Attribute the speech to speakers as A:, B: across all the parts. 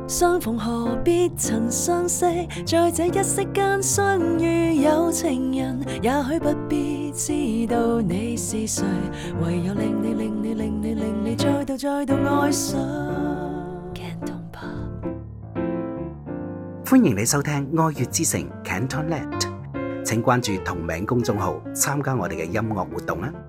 A: 相逢何必曾相識，在這一息間相遇有情人，也許不必知道你是誰，唯有令你再度愛上。
B: 歡迎你收聽愛粵之城 CantonLand， 請關注同名公眾號參加我哋嘅音樂活動啦。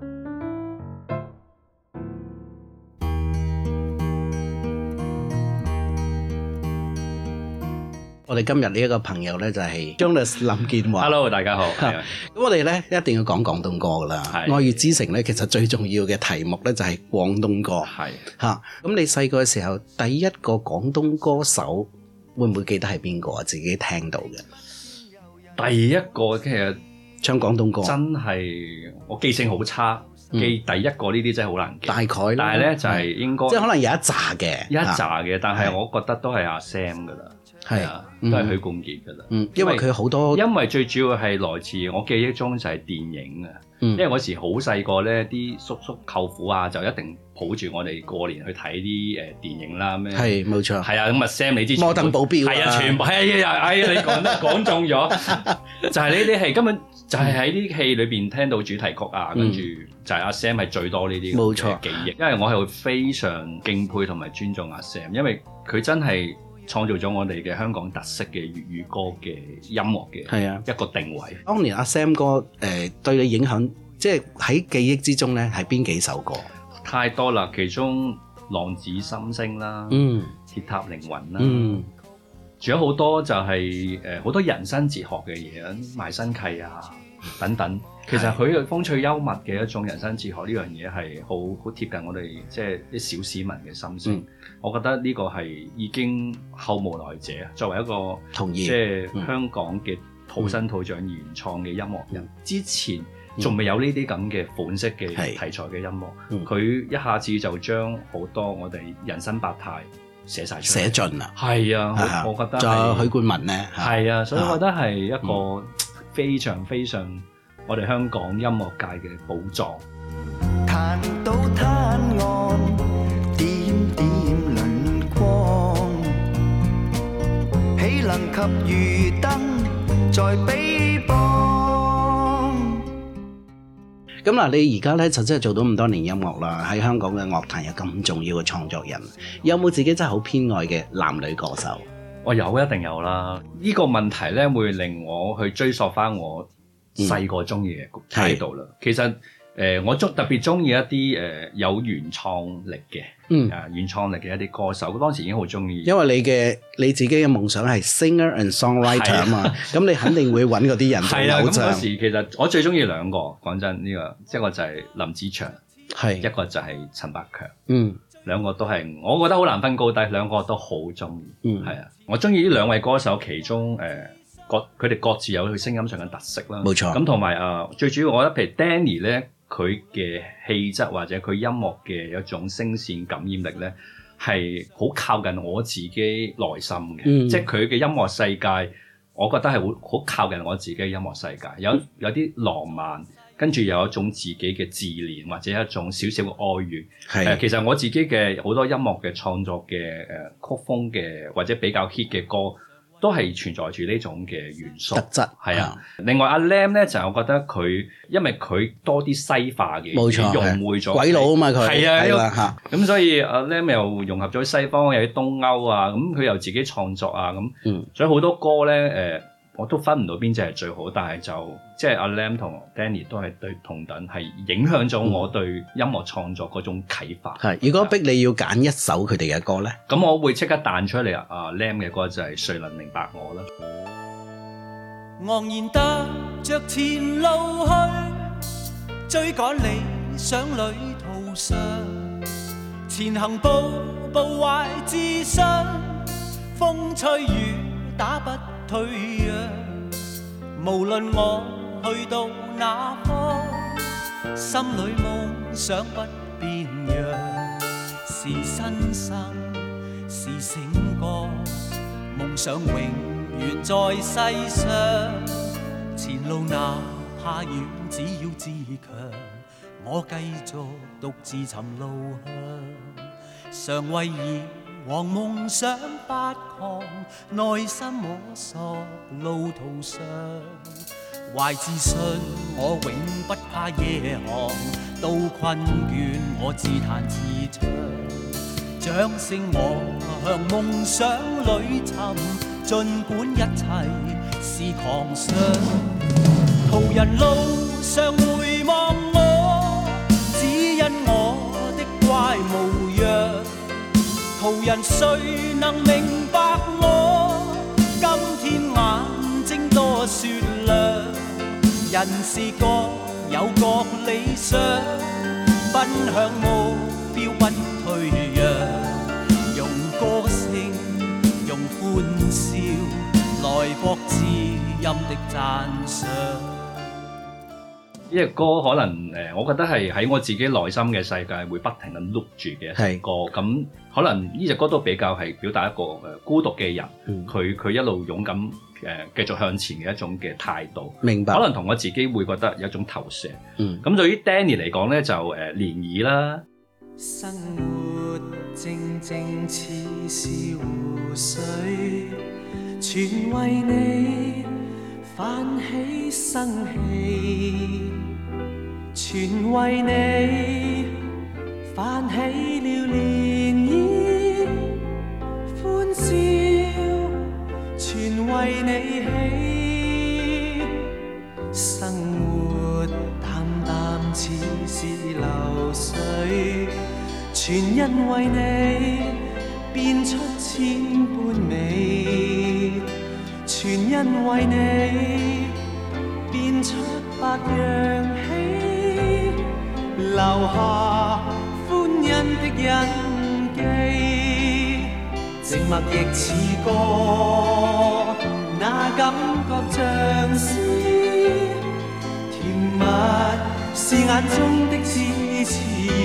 B: 我哋今日呢一個朋友呢，就係 Jonas 林健華。
C: Hello， 大家好。
B: 咁我哋呢一定要講廣東歌噶啦。愛粵之城呢，其實最重要嘅題目呢，就係廣東歌。係嚇。咁你細個嘅時候，第一個廣東歌手會唔會記得係邊個啊？自己聽到嘅
C: 第一個其實
B: 唱廣東歌，
C: 真係我記性好差，記第一個呢啲真係好難記。大
B: 概，
C: 但係呢，就係應該
B: 即係可能有一紮嘅，
C: 但係我覺得都係阿 Sam 噶啦。係啊，都係許冠傑噶啦。
B: 因為佢好多，
C: 因為最主要係來自我記憶中就係電影啊。因為嗰時好細個咧，啲叔叔舅父啊，就一定抱住我哋過年去睇啲電影啦。咩
B: 係冇錯。係
C: 啊，咁啊 Sam 你知
B: 摩登保鏢
C: 係啊，全部係啊，你講中咗，就係呢啲戲根本就係喺啲戲裏邊聽到主題曲啊，跟住就係阿 Sam 係最多呢啲冇錯記憶。因為我係非常敬佩同埋尊重阿 Sam， 因為佢真係創造咗我哋嘅香港特色嘅粵語歌嘅音樂嘅一個定位。
B: 當年阿 Sam 哥對你影響，即係喺記憶之中咧，係邊幾首歌？
C: 太多啦，其中浪子心聲啦，鐵塔凌雲啦，仲有好多就係好多人生哲學嘅嘢，賣身契啊等等。其實佢嘅風趣幽默嘅一種人生哲學呢樣嘢係好貼近我哋即係啲小市民嘅心聲。我覺得呢個係已經後無來者，作為一個即係香港嘅土生土長原創嘅音樂人，之前仲未有呢啲咁嘅款式嘅題材嘅音樂，佢一下子就將好多我哋人生百態寫晒出嚟，寫盡啦。係啊，我覺得
B: 仲有許冠文咧，
C: 係啊，所以我覺得係一個非常非常我哋香港音樂界嘅寶藏。
D: 彈到灘岸，點點輪光，豈能及漁燈在彼邦。
B: 咁嗱，你而家咧就真係做到咁多年音樂啦，喺香港嘅樂壇有咁重要嘅創作人，有冇自己真係好偏愛嘅男女歌手？
C: 我有，一定有啦。呢個問題咧會令我去追溯翻我細個中意嘅態度啦。其實我特別中意一啲有原創力嘅，原創力嘅一啲歌手。當時已經好中意，
B: 因為你自己嘅夢想係 singer and songwriter 啊嘛，咁你肯定會揾嗰啲人做偶像。
C: 咁嗰時其實我最中意兩個，講真呢個，一個就係林子祥，一個就係陳百強。兩個都係，我覺得好難分高低，兩個都好中意。係啊，我中意呢兩位歌手，其中佢哋各自有佢聲音上嘅特色啦。冇錯。咁同埋最主要，我覺得譬如 Danny 咧，佢嘅氣質或者佢音樂嘅一種聲線感染力咧，係好靠近我自己內心嘅。即係佢嘅音樂世界，我覺得係好靠近我自己嘅音樂世界，有啲浪漫。跟住有一種自己嘅自憐，或者一種少少嘅哀怨。其實我自己嘅好多音樂嘅創作嘅曲風嘅或者比較 hit 嘅歌，都係存在住呢種嘅元素特質。係啊，另外阿 Lam 咧就係我覺得佢，因為佢多啲西化嘅，冇錯，融匯咗
B: 鬼佬啊嘛佢。
C: 係啊，咁所以阿 Lam 又融合咗西方有啲東歐啊，咁佢又自己創作啊，咁所以好多歌咧我都分唔到邊隻係最好，但係就即係阿 Lam 同 Danny 都係對同等，係影響咗我對音樂創作嗰種啟發。
B: 如果逼你要揀一首佢哋嘅歌咧，
C: 咁我會即刻彈出嚟Lam 嘅歌就係誰能明白我啦。
D: 昂然踏着前路去，追趕理想旅途上，前行步步懷自信，風吹雨打不退讓，無論我去到哪方，心裏夢想不變樣，是新生是醒覺，夢想永遠在世上，前路哪怕遠，只要自強，我繼續獨自尋路向，常為以往夢想狂，內心摸索路途上，懷自信我永不怕夜航，到困倦我自彈自唱，掌聲我向夢想裏尋，儘管一切是狂想。途人路上回望我，只因我的怪模樣。途人誰能明白我？今天眼睛多雪亮，人是各有各理想，奔向目標不退讓，用歌聲用歡笑來博知音的讚賞。
C: 呢隻歌可能我覺得係喺我自己內心嘅世界會不停咁 loop 住嘅一隻歌，咁可能呢隻歌都比較係表達一個孤獨嘅人，佢一路勇敢繼續向前嘅一種嘅態度。
B: 明白。
C: 可能同我自己會覺得有一種投射。咁對於 Danny 嚟講咧，就漣漪啦。
D: 生活靜靜似是湖水，全為你泛起生氣，全為你泛起了漣漪，歡笑全為你起，生活淡淡似是流水，全因為你變出千般美，全因為你變出百樣喜，留下歡欣的印記，靜默亦似歌，那感覺像詩，甜蜜是眼中的支持，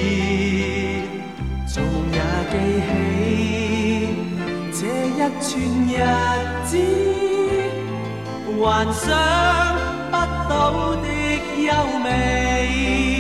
D: 做夢也記起這一串日子，幻想不到的優美。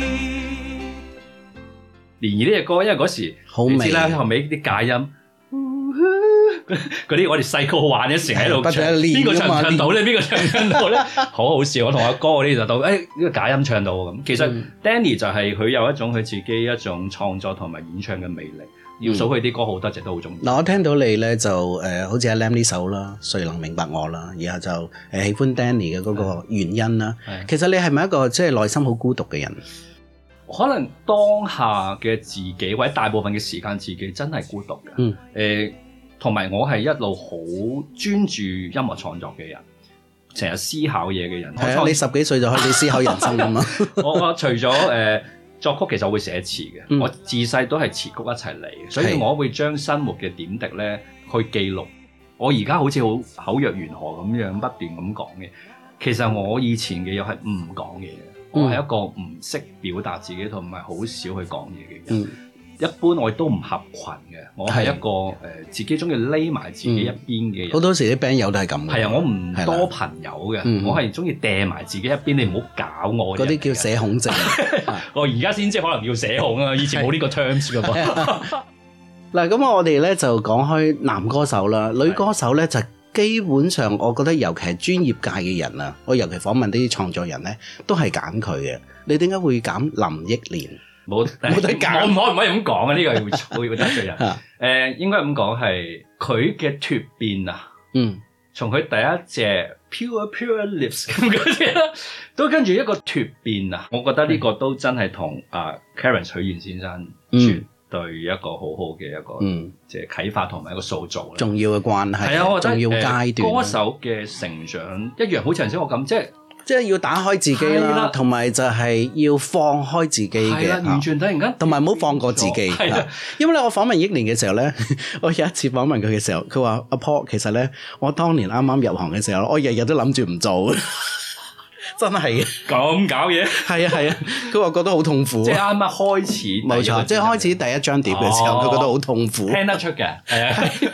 C: 漣漪呢隻歌，因為嗰時你知啦，後尾啲假音嗰啲，我哋細個玩嘅時喺度唱，邊個唱唔唱到咧？邊個唱唔唱到咧？好好笑！我同阿哥嗰啲就到，呢個假音唱到咁。其實 Danny 就係佢有一種佢自己一種創作同埋演唱嘅魅力。要數佢啲歌好多隻都好中意。
B: 嗱，我聽到你咧就好似阿 Lam 呢首啦，誰能明白我啦，然後就喜歡 Danny 嘅嗰個原因啦。其實你係咪一個即係內心好孤獨嘅人？
C: 可能當下嘅自己或者大部分嘅時間自己真係孤獨嘅。同埋我係一路好專注音樂創作嘅人，成日思考嘢嘅人。
B: 係啊，你10幾歲就開始思考人生㗎嘛？
C: 我除咗作曲，其實我會寫詞嘅。我自細都係詞曲一齊嚟嘅，所以我會將生活嘅點滴咧去記錄。我而家好似好口若懸河咁樣不斷咁講嘅，其實我以前嘅嘢係唔講嘢嘅。我係一個唔識表達自己同埋好少去講嘢嘅人。一般我都唔合群嘅，我係一個自己中意匿埋自己一邊嘅人。好
B: 多時啲 band 友都係咁。
C: 係啊，我唔多朋友嘅，我係中意掟埋自己一邊，你唔好搞我。
B: 嗰啲叫社恐症。
C: 我而家先知可能叫社恐啊，以前冇呢個 terms 㗎噃。
B: 嗱，咁我哋咧就講開男歌手啦，女歌手咧就基本上我覺得尤其係專業界嘅人啊，我尤其訪問啲創作人咧，都係揀佢嘅。你點解會揀林憶蓮？冇得揀，
C: 我唔可以咁講啊！呢個會得罪人。應該咁講係佢嘅脫變啊。從佢第一隻 Pure Lips 咁嗰啲啦，都跟住一個脫變啊！我覺得呢個都真係同Karen 許願先生絕對一個好好嘅一個即係啟發同埋一個塑造
B: 重要嘅關係。
C: 係啊，我覺得
B: 重要階段。
C: 歌手嘅成長一樣，好似頭先我咁，即係
B: 要打開自己啦，同埋就係要放開自己嘅，
C: 完全突然間，
B: 同埋唔好放過自己。因為咧，我訪問憶蓮嘅時候咧，我有一次訪問佢嘅時候，佢話阿 Paul，其實咧，我當年啱啱入行嘅時候，我日日都諗住唔做，真係
C: 咁搞嘢。
B: 係啊，佢話覺得好痛苦。即
C: 係啱啱開始，
B: 冇錯，即係開始第一張碟嘅時候，佢覺得好痛苦。
C: 聽得出嘅，係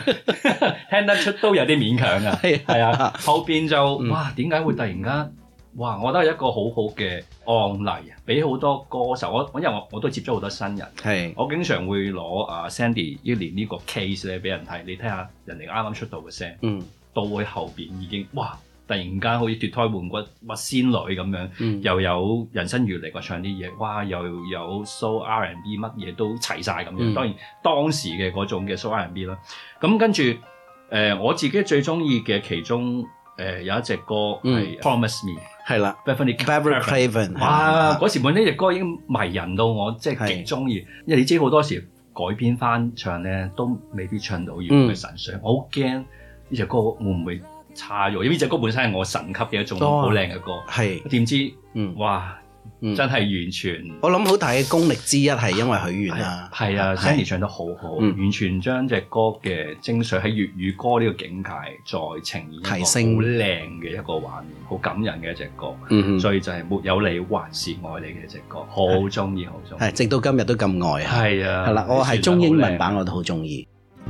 C: 啊，聽得出都有啲勉強㗎。係啊，後邊就哇，點解會突然間哇！我覺得係一個好好嘅案例，俾好多歌手，因為我都接觸好多新人，係我經常會攞Sandy 一年呢個 case 咧俾人睇，你睇下人哋啱啱出道嘅聲，到佢後邊已經哇！突然間好似脫胎換骨，哇仙女咁樣，又有人生閲歷個唱啲嘢，哇又有 soul R&B 乜嘢都齊晒咁樣。當然當時嘅嗰種嘅 soul R&B 啦。咁跟住我自己最中意嘅其中有一隻歌係 Promise Me， 係啦 Beverly Craven。哇！嗰時本呢隻歌已經迷人到我即係極中意，因為你知好多時改編翻唱咧都未必唱到原本嘅神髓。我好驚呢隻歌會唔會差咗，因為呢隻歌本身係我神級嘅一種好靚嘅歌，係點知哇真係完全，
B: 我諗好大嘅功力之一係因為許願啦，
C: 係啊 Sandy 唱得好好，完全將隻歌嘅精髓喺粵語歌呢個境界再呈現一個好靚嘅一個畫面，好感人嘅一隻歌，所以就係沒有你還是愛你嘅一隻歌，好中意好中意，
B: 係直到今日都咁愛，係
C: 啊，
B: 係啦，我係中英文版我都好中意。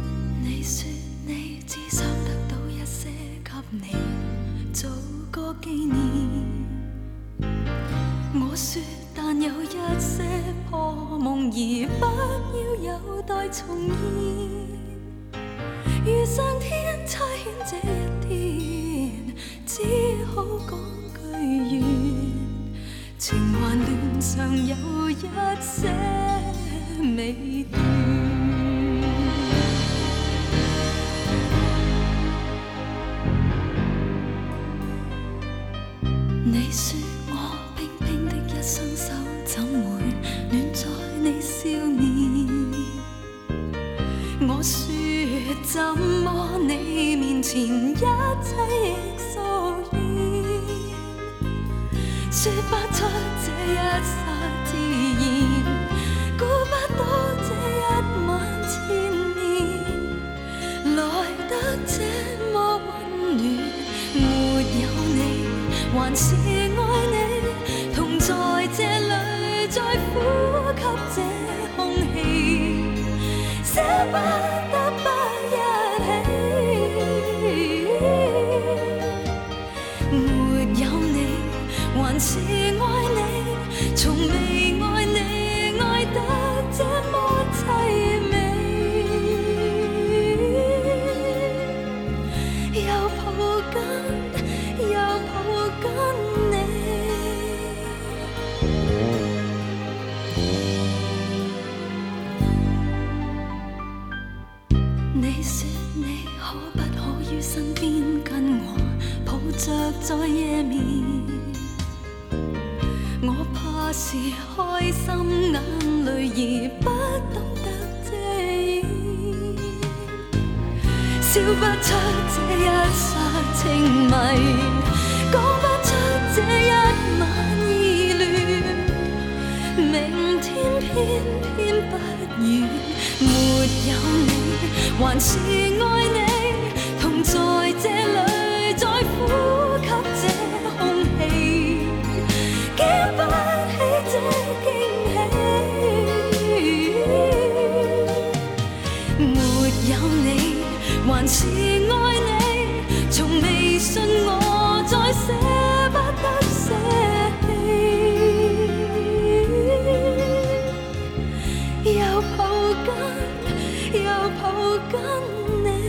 A: 我說但有一些破夢而不要有待重現，如上天差遣這一天，只好講句願，情還亂常有一些未斷。你說我冰冰的一雙手怎會暖在你笑面？我說怎麼你面前一切亦疏遠？說不出這一剎自然，估不到這一晚千年來得這麼溫暖，沒有你還是愛你，同在這裏再呼吸這空氣，捨不得不一起。沒有你還是愛你，從未愛你愛得這麼凄美，又抱緊又抱緊你。你說你可不可於身邊跟我抱着在夜眠？我怕是開心眼淚而不懂得遮掩，笑不出這一剎情迷，講不出這一晚意亂，明天偏偏不遠，沒有你還是愛你，同在這裏再呼吸這空氣，經不起這驚喜，沒有你還是愛你，從未信我再捨不得捨棄，又抱緊又抱緊你。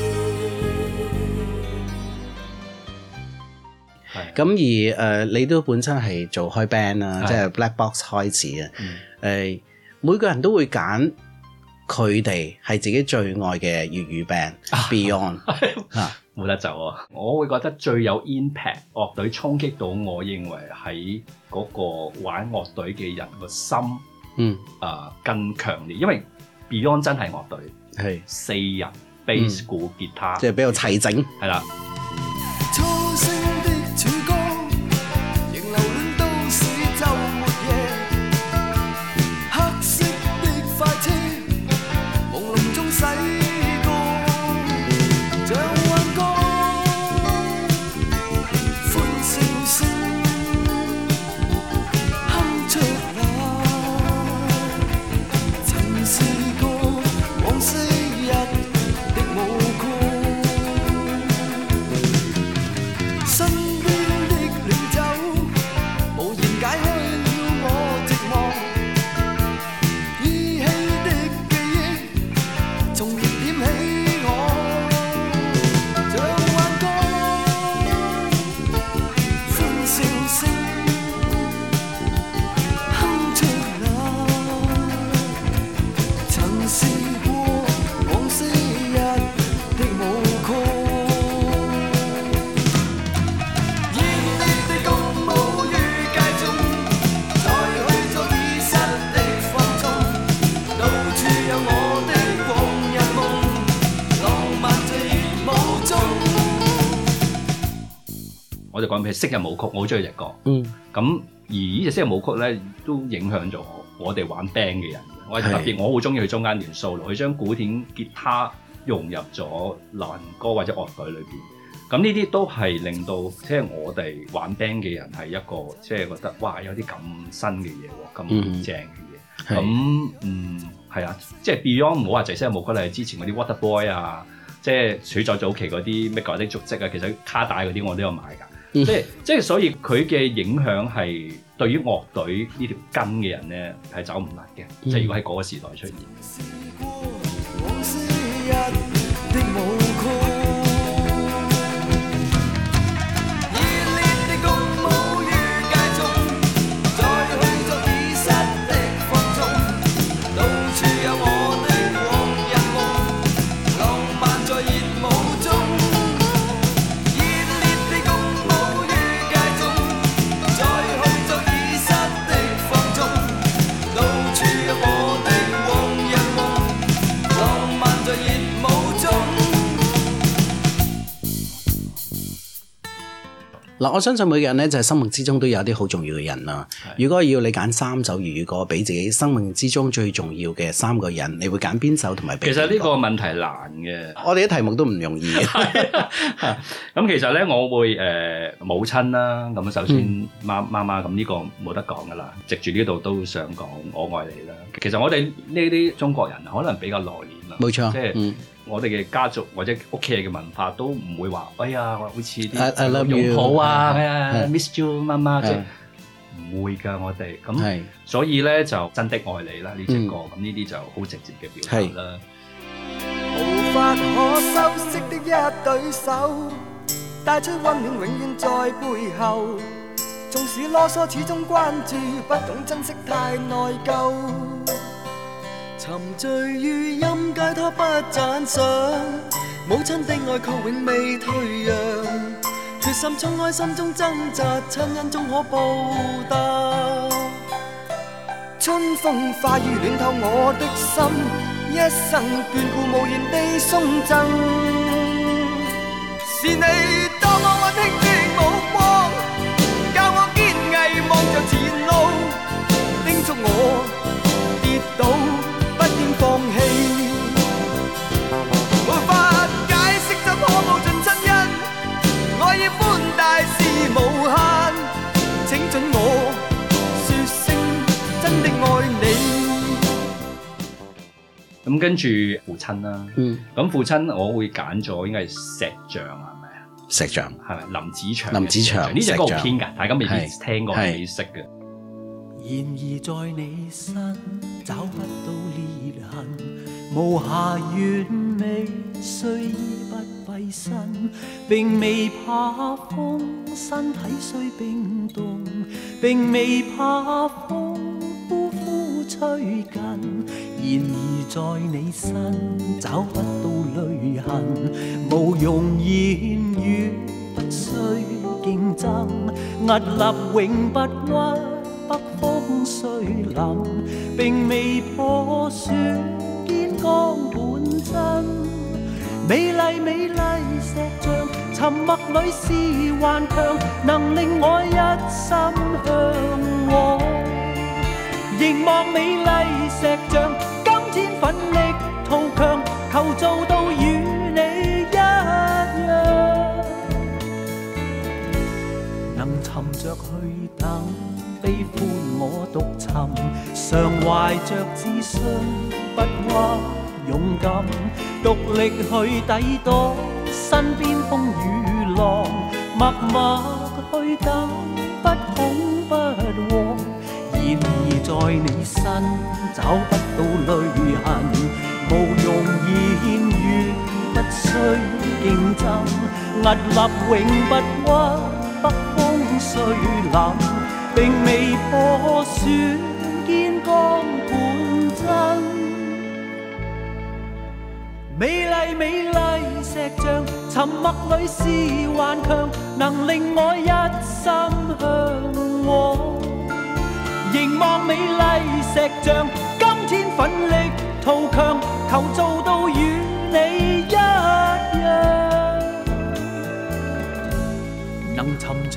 B: 咁而你都本身係做開 band 啦，即係 Black Box 開始啊。每個人都會揀佢哋係自己最愛嘅粵語 band Beyond
C: 冇得走啊！我會覺得最有 impact 樂隊衝擊到我，認為喺嗰個玩樂隊嘅人個心，更強烈，因為 Beyond 真係樂隊，係4人 bass 鼓吉他，
B: 即係比較齊整，係啦。
E: 身邊的領袖
C: 我就講譬如昔日舞曲，我好中意隻歌。咁而呢隻昔日舞曲咧，都影響咗我哋玩 band 嘅人。我特別我好中意佢中間段 solo，佢將古典吉他融入咗流行歌或者樂隊裏邊。咁呢啲都係令到即係我哋玩 band 嘅人係一個即係覺得哇有啲咁新嘅嘢喎，咁正嘅嘢。咁係啊，即係 Beyond 唔好話淨係昔日舞曲，係之前嗰啲 Waterboy 啊，即係處在早期嗰啲咩舊的足跡啊，其實卡帶嗰啲我都有買㗎。即係所以佢嘅影響係對於樂隊呢條根嘅人咧係走唔甩嘅。即係如果喺嗰個時代出現。
B: 嗱，我相信每個人咧就係生命之中都有啲好重要嘅人啦。如果要你揀3首粵語歌俾自己生命之中最重要嘅3個人，你會揀邊首同埋？
C: 其實呢個問題難嘅，
B: 我哋啲題目都唔容易嘅。
C: 咁其實咧，我會母親啦。咁首先媽媽咁呢個冇得講噶啦。藉住呢度都想講我愛你啦。其實我哋呢啲中國人可能比較內斂啦，
B: 冇錯，
C: 即係我哋嘅家族或者屋企人嘅文化都唔會話，哎呀，好似啲擁抱啊，miss you 媽媽，即係唔會㗎，我哋咁，所以咧就真的愛你啦呢隻歌，咁呢啲就好直接嘅表達啦。
E: 無法可修飾的一對手，帶出溫暖永遠在背後，縱使囉嗦始終關注，不懂珍惜太內疚。沉醉於音階，他不讚賞，母親的愛卻永未退讓，決心衝開心中掙扎，親恩終可報答。春風化雨暖透我的心，一生眷顧無言地送贈，是你多麼溫馨的目光，教我堅毅望着前路，叮囑我跌倒不應放棄，無法解釋怎可報盡親恩，愛意寬大是無限，請准我說聲真的愛你。
C: 咁跟住父親啦，咁父親我會揀咗應該係石像啊，係咪啊？
B: 石像
C: 係咪林子祥？
B: 林子祥
C: 呢隻歌好偏㗎，大家未必聽過未識嘅。
D: 然而在你身找不到裂痕，無瑕完美，雖衣不蔽身，並未怕風，身體雖冰凍，並未怕風呼呼吹近。然而在你身找不到淚痕，無用言語，不需競爭，屹立永不屈。北風雖冷，並未破損堅剛本真。美麗美麗石像，沉默裏是頑強，能令我一心向往。凝望美麗石像，今天奮力圖強，求做到與你一樣，能沉着去等。悲歡我獨尋，常懷着自信，不屈勇敢，獨力去抵擋身邊風與浪，默默去等，不恐不慌。然而在你身找不到淚痕，無用言語，不需競爭，屹立永不屈，北風雖冷。並未破損堅剛本真，美麗美麗石像，沉默裏是頑強，能令我一心向往。凝望美麗石像，今天奮力圖強，求做到與你一樣，能沉着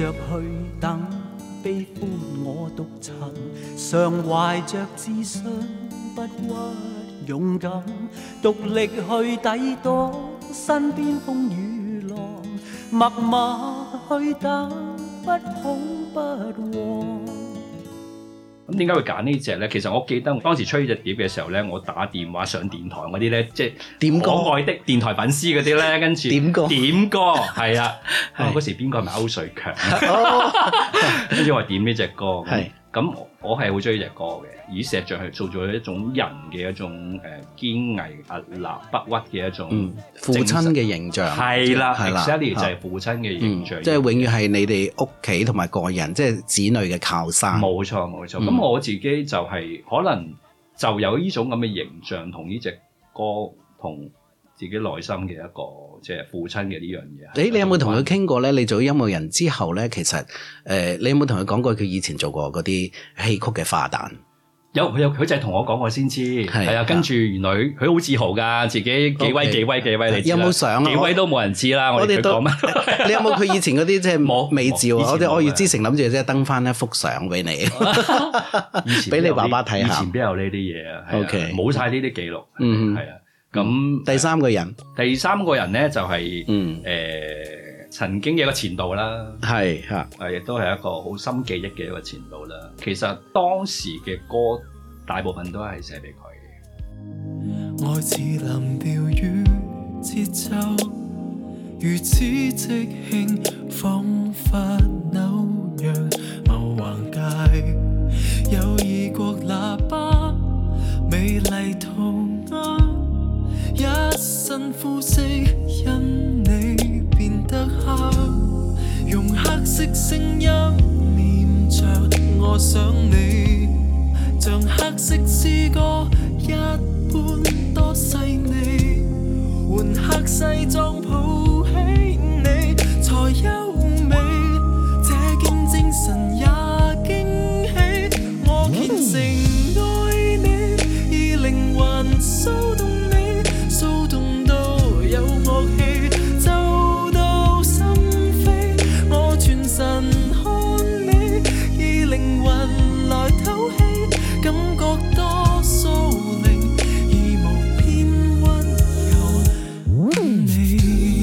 D: 着去等，悲歡我獨尋，常懷着自信，不屈勇敢，獨力去抵擋身邊風雨浪，默默去等，不恐不慌。
C: 咁點解會揀呢隻咧？其實我記得當時吹呢隻碟嘅時候咧，我打電話上電台嗰啲咧，即係點歌可愛的電台粉絲嗰啲咧，跟住點歌係啊，嗰時邊個係咪歐瑞強？跟住我點呢隻歌，咁我係好中意呢隻歌嘅，以石像係做咗一種人嘅一種堅毅屹立不屈嘅一種
B: 父親嘅形象，
C: 係啦 exactly 就係父親嘅形象，
B: 即係永遠係你哋屋企同埋個人，即係子女嘅靠山。
C: 冇錯冇錯。咁我自己就係可能就有呢種咁嘅形象，同呢隻歌同自己內心嘅一個即係父親嘅呢樣嘢。
B: 你有冇同佢傾過咧？你做音樂人之後咧，其實你有冇同佢講過佢以前做過嗰啲戲曲嘅花旦？
C: 佢就係同我講過先知，係啊。跟住原來佢好自豪㗎，自己幾威，你知
B: 有冇相啊？
C: 幾威都冇人知啦。我哋講乜？
B: 你有冇佢以前嗰啲即係冇美照啊？我哋愛粵之城諗住即係登翻一幅相俾你，俾你爸爸睇下。
C: 以前邊有呢啲嘢啊
B: ？OK，
C: 冇晒呢啲記錄。係啊。咁
B: 第三個人咧就係曾經嘅一個前度啦， 係嚇，
C: 亦都係一個好深記憶嘅一個前度啦。其實當時嘅歌大部分都係寫俾佢嘅。
D: 愛似藍調與節奏，如此即興，彷彿紐約某橫街，有異國喇叭，美麗塗鴉。一身膚色因你變得黑，用黑色聲音念着我想你，像黑色詩歌一般多細膩，換黑西裝抱起你才優美，這件精神也驚喜，我虔誠愛你，以靈魂騷動你，騷動到有樂器奏到心扉，我全神看你，以靈魂來透氣，感覺多蘇寧，而無偏溫柔你。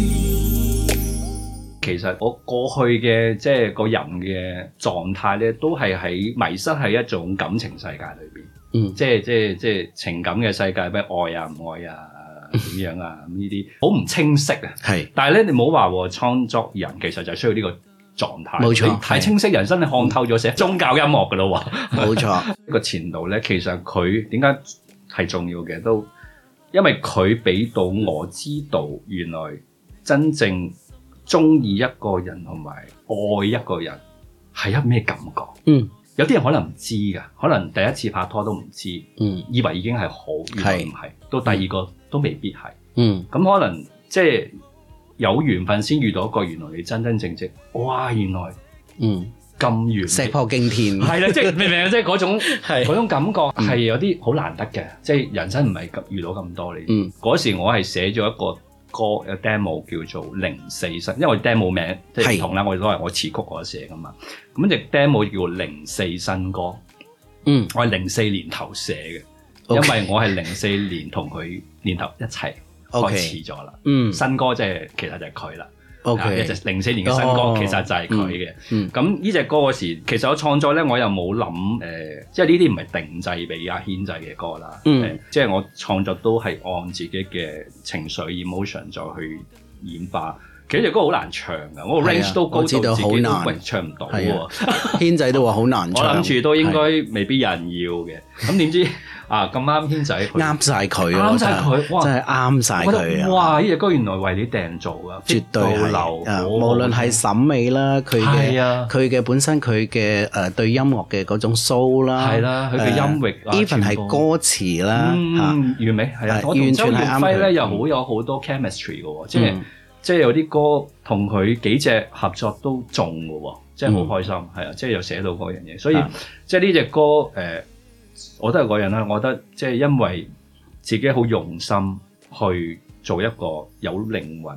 C: 其實我過去嘅即係個人嘅狀態咧，都係喺迷失喺一種感情世界裏邊，即係情感嘅世界，咩愛啊唔愛啊點樣啊咁呢啲好唔清晰啊。係，但係咧你唔好話創作人其實就係需要呢個狀態，冇錯，太清晰人生你看透咗寫宗教音樂噶咯喎，冇錯。個前度咧，其實佢點解係重要嘅，都因為佢俾到我知道，原來真正中意一個人同埋愛一個人係一咩感覺。有啲人可能唔知㗎，可能第一次拍拖都唔知，以為已經係好，原來唔係，到第二個都未必係。咁可能即係有緣分先遇到一個，原來你真真正正，哇！原來咁完
B: 石破驚天，
C: 係啦，即係明唔明啊？即係嗰種感覺係有啲好難得嘅，即係人生唔係遇到咁多你。嗰時我係寫咗一個歌有 demo 叫做04新，因為 demo 名即係唔同啦，我哋都係我詞曲我寫噶嘛。咁隻 demo 叫04新歌，我係04年頭寫嘅，因為我係04年同佢年頭一齊開始咗啦。新歌即係其實就係佢啦。一隻04年嘅新歌，其實就係佢嘅。咁呢隻歌嗰時，其實我創作咧，我又冇諗即係呢啲唔係定製俾阿軒仔嘅歌啦。即係我創作都係按自己嘅情緒 emotion 再去演化。其實隻歌好難唱㗎，我個 range 都高到自己都唱唔到喎。
B: 軒仔都話好難唱，
C: 我諗住都應該未必有人要嘅。咁點知啊咁啱軒仔
B: 啱晒佢，
C: 啱晒佢，哇！
B: 真係啱晒佢啊！
C: 哇！呢隻歌原來為你訂做㗎，
B: 絕對係。無論係審美啦，佢嘅本身佢嘅對音樂嘅嗰種 soul 啦，
C: 係啦，佢嘅音域
B: ，even 係歌詞啦，
C: 完美係啊！我同周耀輝咧又好有好多 chemistry 嘅喎，即係有啲歌同佢幾隻合作都中嘅喎，即係好開心，係啊！即係又寫到嗰樣嘢，所以即係呢隻歌我都係嗰樣啦。我覺得即係因為自己好用心去做一個有靈魂、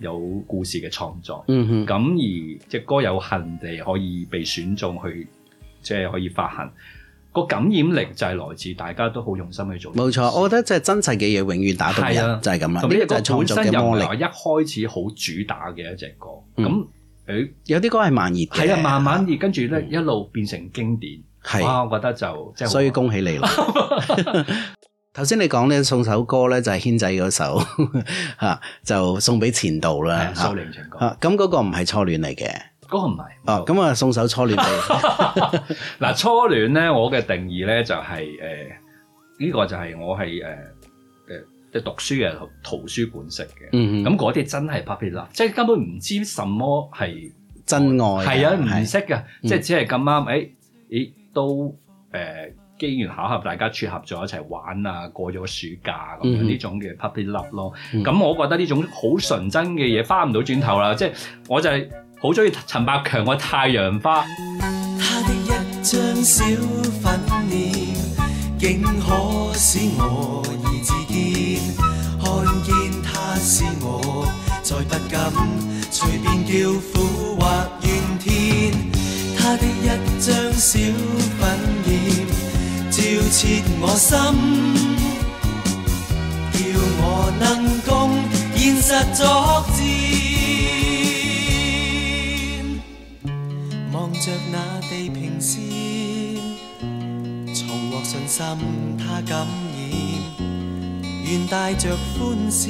C: 有故事嘅創作。咁而隻歌有幸地可以被選中去，即係可以發行。個感染力就係來自大家都好用心去做。
B: 冇錯，我覺得即係真實嘅嘢永遠打動人，就係咁啦。呢個就係創作嘅魔力。
C: 一開始好主打嘅一隻歌，咁
B: 有啲歌係慢熱嘅，
C: 係啊，慢慢熱，跟住咧一路變成經典。哇，我覺得就即係，
B: 所以恭喜你啦！頭先你講咧送首歌咧就係軒仔嗰首嚇，就送俾前度啦。
C: 蘇寧情歌。
B: 咁嗰個唔係初戀嚟嘅。
C: 嗰個唔係
B: 咁啊送首初戀俾
C: 嗱初戀咧，我嘅定義咧就係呢個就係我係即係讀書嘅圖書館式嘅，咁嗰啲真係 puppy love，即係根本唔知什麼係
B: 真愛，
C: 係啊唔識嘅，即係只係咁啱，咦都機緣巧合大家撮合咗一齊玩啊，過咗暑假咁樣呢種嘅 puppy love 咯，咁我覺得呢種好純真嘅嘢翻唔到轉頭啦，即係我就係。好中意陳百強嘅《太陽花》。
F: 他的一張小粉臉，竟可使我意自堅。看見他使我再不敢隨便叫苦或怨天。他的一張小粉臉，照切我心，叫我能共現實作戰。望着那地平線，重獲信心他感染，願帶着歡笑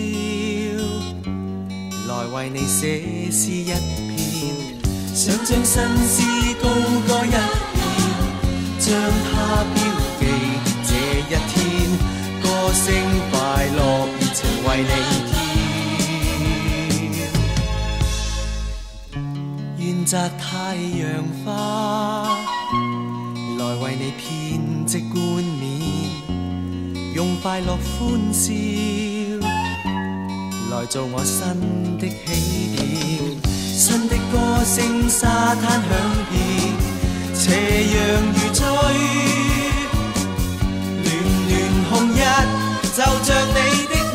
F: 來為你寫詩一篇，想將新詩高歌一遍，將它標記這一天，歌聲快樂熱情為你摘太陽花，來為你編織冠冕，用快樂歡笑來做我新的起點，新的歌聲沙灘響遍，斜陽如醉，暖暖紅日就像你的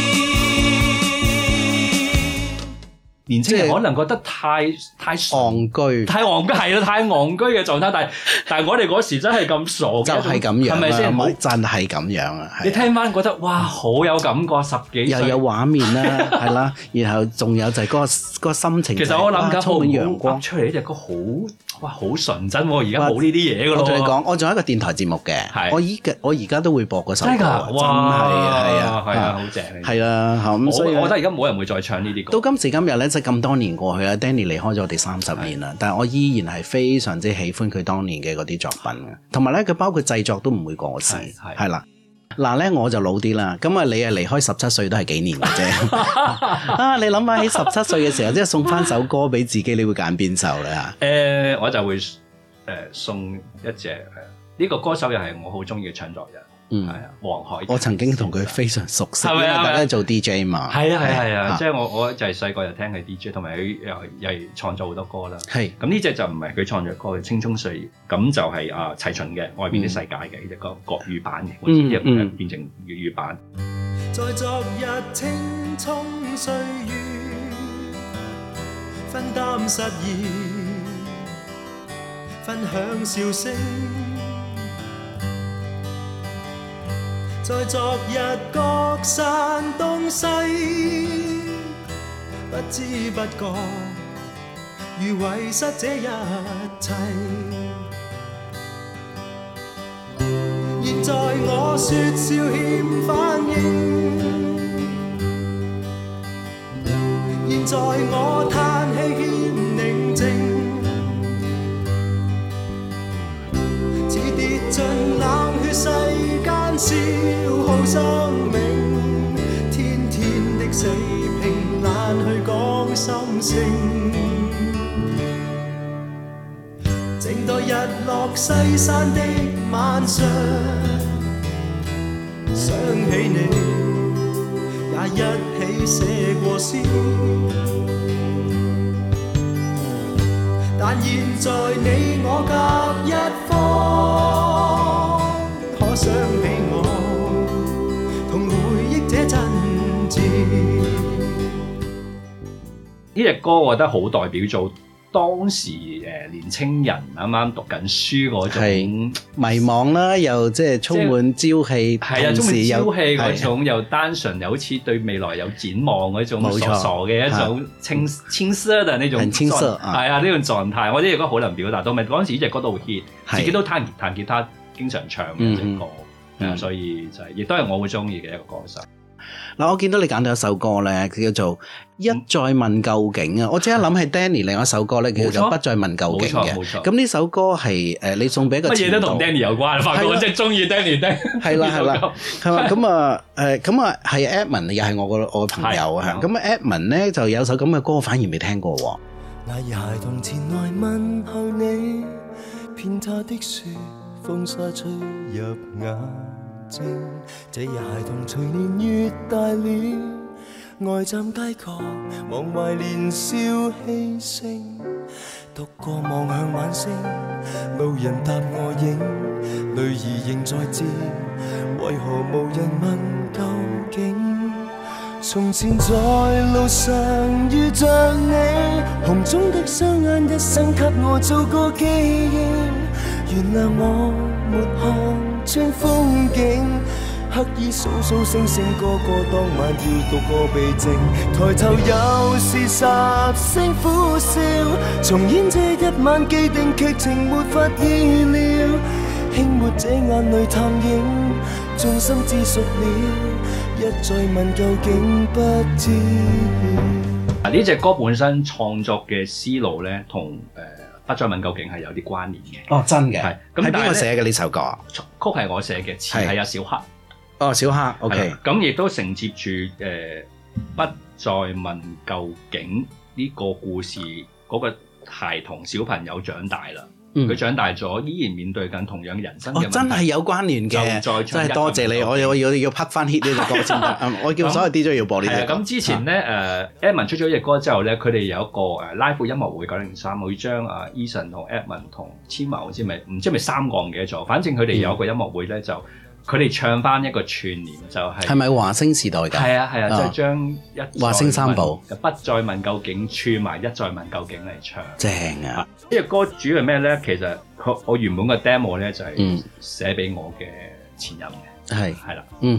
C: 年青人可能覺得太
B: 戇居，
C: 太戇居係啦，太戇居嘅狀態。但係我哋嗰時真係咁傻嘅，
B: 就係咁樣，
C: 係咪先？
B: 真係咁樣啊！
C: 你聽翻覺得哇，好有感覺，十幾歲
B: 又有畫面啦，係啦，然後仲有就係嗰個心情。
C: 其實我諗緊
B: 充滿陽光
C: 出嚟呢隻歌好純真喎！而家冇呢啲嘢噶咯。
B: 我同你講，我仲有一個電台節目嘅，我而家都會播嗰首歌，真係
C: 好正，
B: 係啦，咁所以
C: 我覺得而家冇人會再唱呢啲歌。
B: 到今時今日咧，即係咁多年過去啦 ，Danny 離開咗我哋30年啦，但係我依然係非常之喜歡佢當年嘅嗰啲作品嘅，同埋咧佢包括製作都唔會過時，係啦。嗱咧我就老啲啦，咁啊你啊離開17歲都係幾年嘅啫。啊，你諗下喺17歲嘅時候，即係送翻首歌俾自己，你會揀邊首咧？
C: 我就會送一隻呢個歌手又係我好中意嘅唱作人。係啊，黃海。我曾經同佢非常熟悉，因為大家做 DJ 嘛。係啊，即係我就係細個就聽佢 DJ， 同埋佢又係創作好多歌啦。係咁呢隻就唔係佢創作歌嘅《青蔥歲月》，咁就係齊秦嘅《外邊的世界》嘅呢隻歌國語版嘅，變成粵語版。
E: 在昨日青蔥歲月，分擔失意，分享笑聲。在昨日各散東西，不知不覺如遺失這一切。現在我說笑欠反應，現在我嘆氣欠寧靜，似跌進冷血世間消耗生命，天天的死拼懶去講心聲，靜待日落西山的晚上，想起你也一起寫過詩，但現在你我隔一方，可想起我同回憶這真摯。
C: 呢隻歌我覺得好代表做當時年青人啱啱讀緊書嗰種
B: 迷茫啦，又即係充滿朝氣，
C: 係啊，充滿朝氣嗰種，又單純又好似對未來有展望嗰種傻傻嘅一種青澀嘅呢種，
B: 很青澀
C: 係啊呢種狀態，我覺得呢隻歌好能表達到，咪嗰陣時呢隻歌都好 hit，自己都彈吉他經常唱嘅一隻歌，所以就係亦都係我會中意嘅一個歌手。
B: 嗱，我見到你揀到一首歌咧，佢叫做《一再問究竟》啊！我即刻諗起 Danny 另一首歌咧，叫做《不再問究竟》嘅。冇錯。咁呢首歌係你送俾一個
C: 乜嘢都同 Danny 有關，發覺我真係中意 Danny。
B: 係啦，係嘛？咁啊係 Edmond 又係我朋友啊。咁 Edmond 咧就有首咁嘅歌，反而未聽過喎。
F: 那兒孩童前來問候你，騙他的雪風沙吹入眼睛，這日孩童隨年越大了，呆站街角忘懷年少氣盛，獨個望向晚星，路人答我影，淚兒仍在漸，為何無人問究竟？從前在路上遇着你，紅中的雙眼一生給我做個記憶，原諒我沒看穿風景，刻意數數星星，個個當晚要獨個避靜，抬頭又是10聲苦笑，重演這一晚既定劇情沒法意料，輕抹這眼淚探影，眾心知熟了，一再問究竟不知。
C: 呢隻歌本身創作嘅思路咧，同不再問究竟係有啲關聯嘅。
B: 哦，真嘅。係。
C: 咁
B: 邊個寫嘅呢首歌？
C: 曲係我寫嘅，詞係阿小黑。
B: 哦，小黑。OK。咁
C: 亦都承接住不再問究竟呢個故事嗰個孩童小朋友長大啦。佢長大咗，依然面對緊同樣人生嘅問題。
B: 真係有關聯嘅，真係多謝你，我要拍翻 hit 呢隻歌先得。我叫所有 DJ 要播呢隻歌。
C: 咁之前咧Edmond 出咗呢隻歌之後咧，佢哋有一個live 音樂會903，會將Eason 同 Edmond 同千嬅唔知咪3個唔記得咗，反正佢哋有一個音樂會咧就。佢哋唱翻一個串聯就係
B: 咪華星時代㗎？
C: 係啊，就係將
B: 華星三部
C: 不再問究竟串埋一再問究竟嚟唱，
B: 正啊！
C: 呢隻歌主要係咩咧？其實我原本嘅 demo 咧就係寫俾我嘅前任嘅，係啦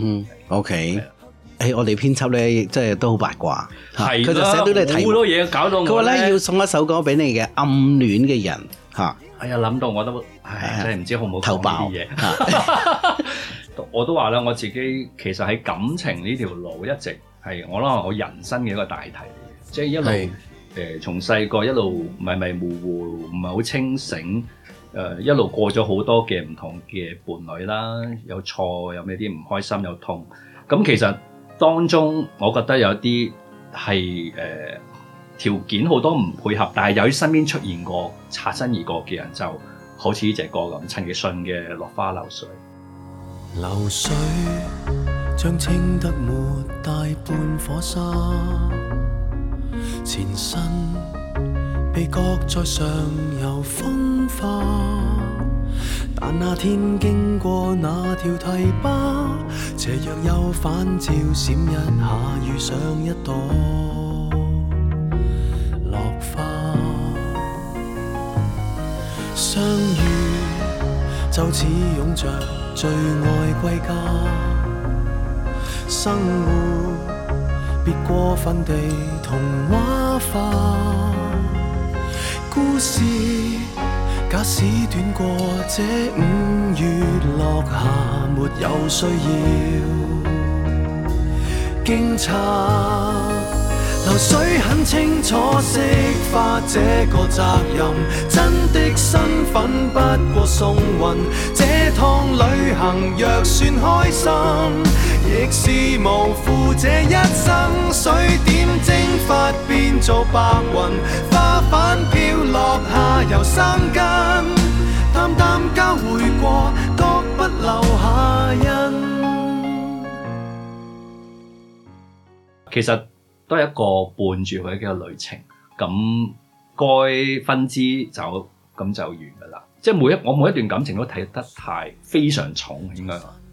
B: ，OK。我哋編輯咧，即係都好八卦，
C: 佢
B: 就寫到你題
C: 好多嘢搞到我。
B: 佢話咧要送一首歌俾你嘅暗戀嘅人嚇。
C: 哎呀，諗到我都真係唔知好唔好
B: 頭爆
C: 呢啲嘢。我都話啦，我自己其實喺感情呢條路一直係我諗我人生嘅一個大題嚟嘅，即係一路從細個一路迷迷糊糊，唔係好清醒，一路過咗好多嘅唔同嘅伴侶啦，有錯，有咩啲唔開心，有痛。咁其實當中我覺得有啲係條件好多唔配合，但係由於身邊出現過擦身而過嘅人，就好似呢隻歌咁，陳奕迅嘅《落花流水》。
F: 流水將清得沒大半火沙，前身被擱在上游風化，但那天經過那條堤壩，斜陽又反照閃一下，遇上一朵落花，相遇就似擁着最愛歸家，生活別過分地童話化，故事假使短過這5月落霞，沒有需要驚詫。流水很清楚釋化這個責任，真的身份不過送運，這趟旅行若算開心，亦是無負這一生。水點蒸發變做白雲，花瓣飄落下游生根，淡淡交匯過，各不留下印。
C: 其實都係一個伴住佢嘅旅程，咁該分支走，咁就完噶啦。即係我每一段感情都睇得非常重，應該話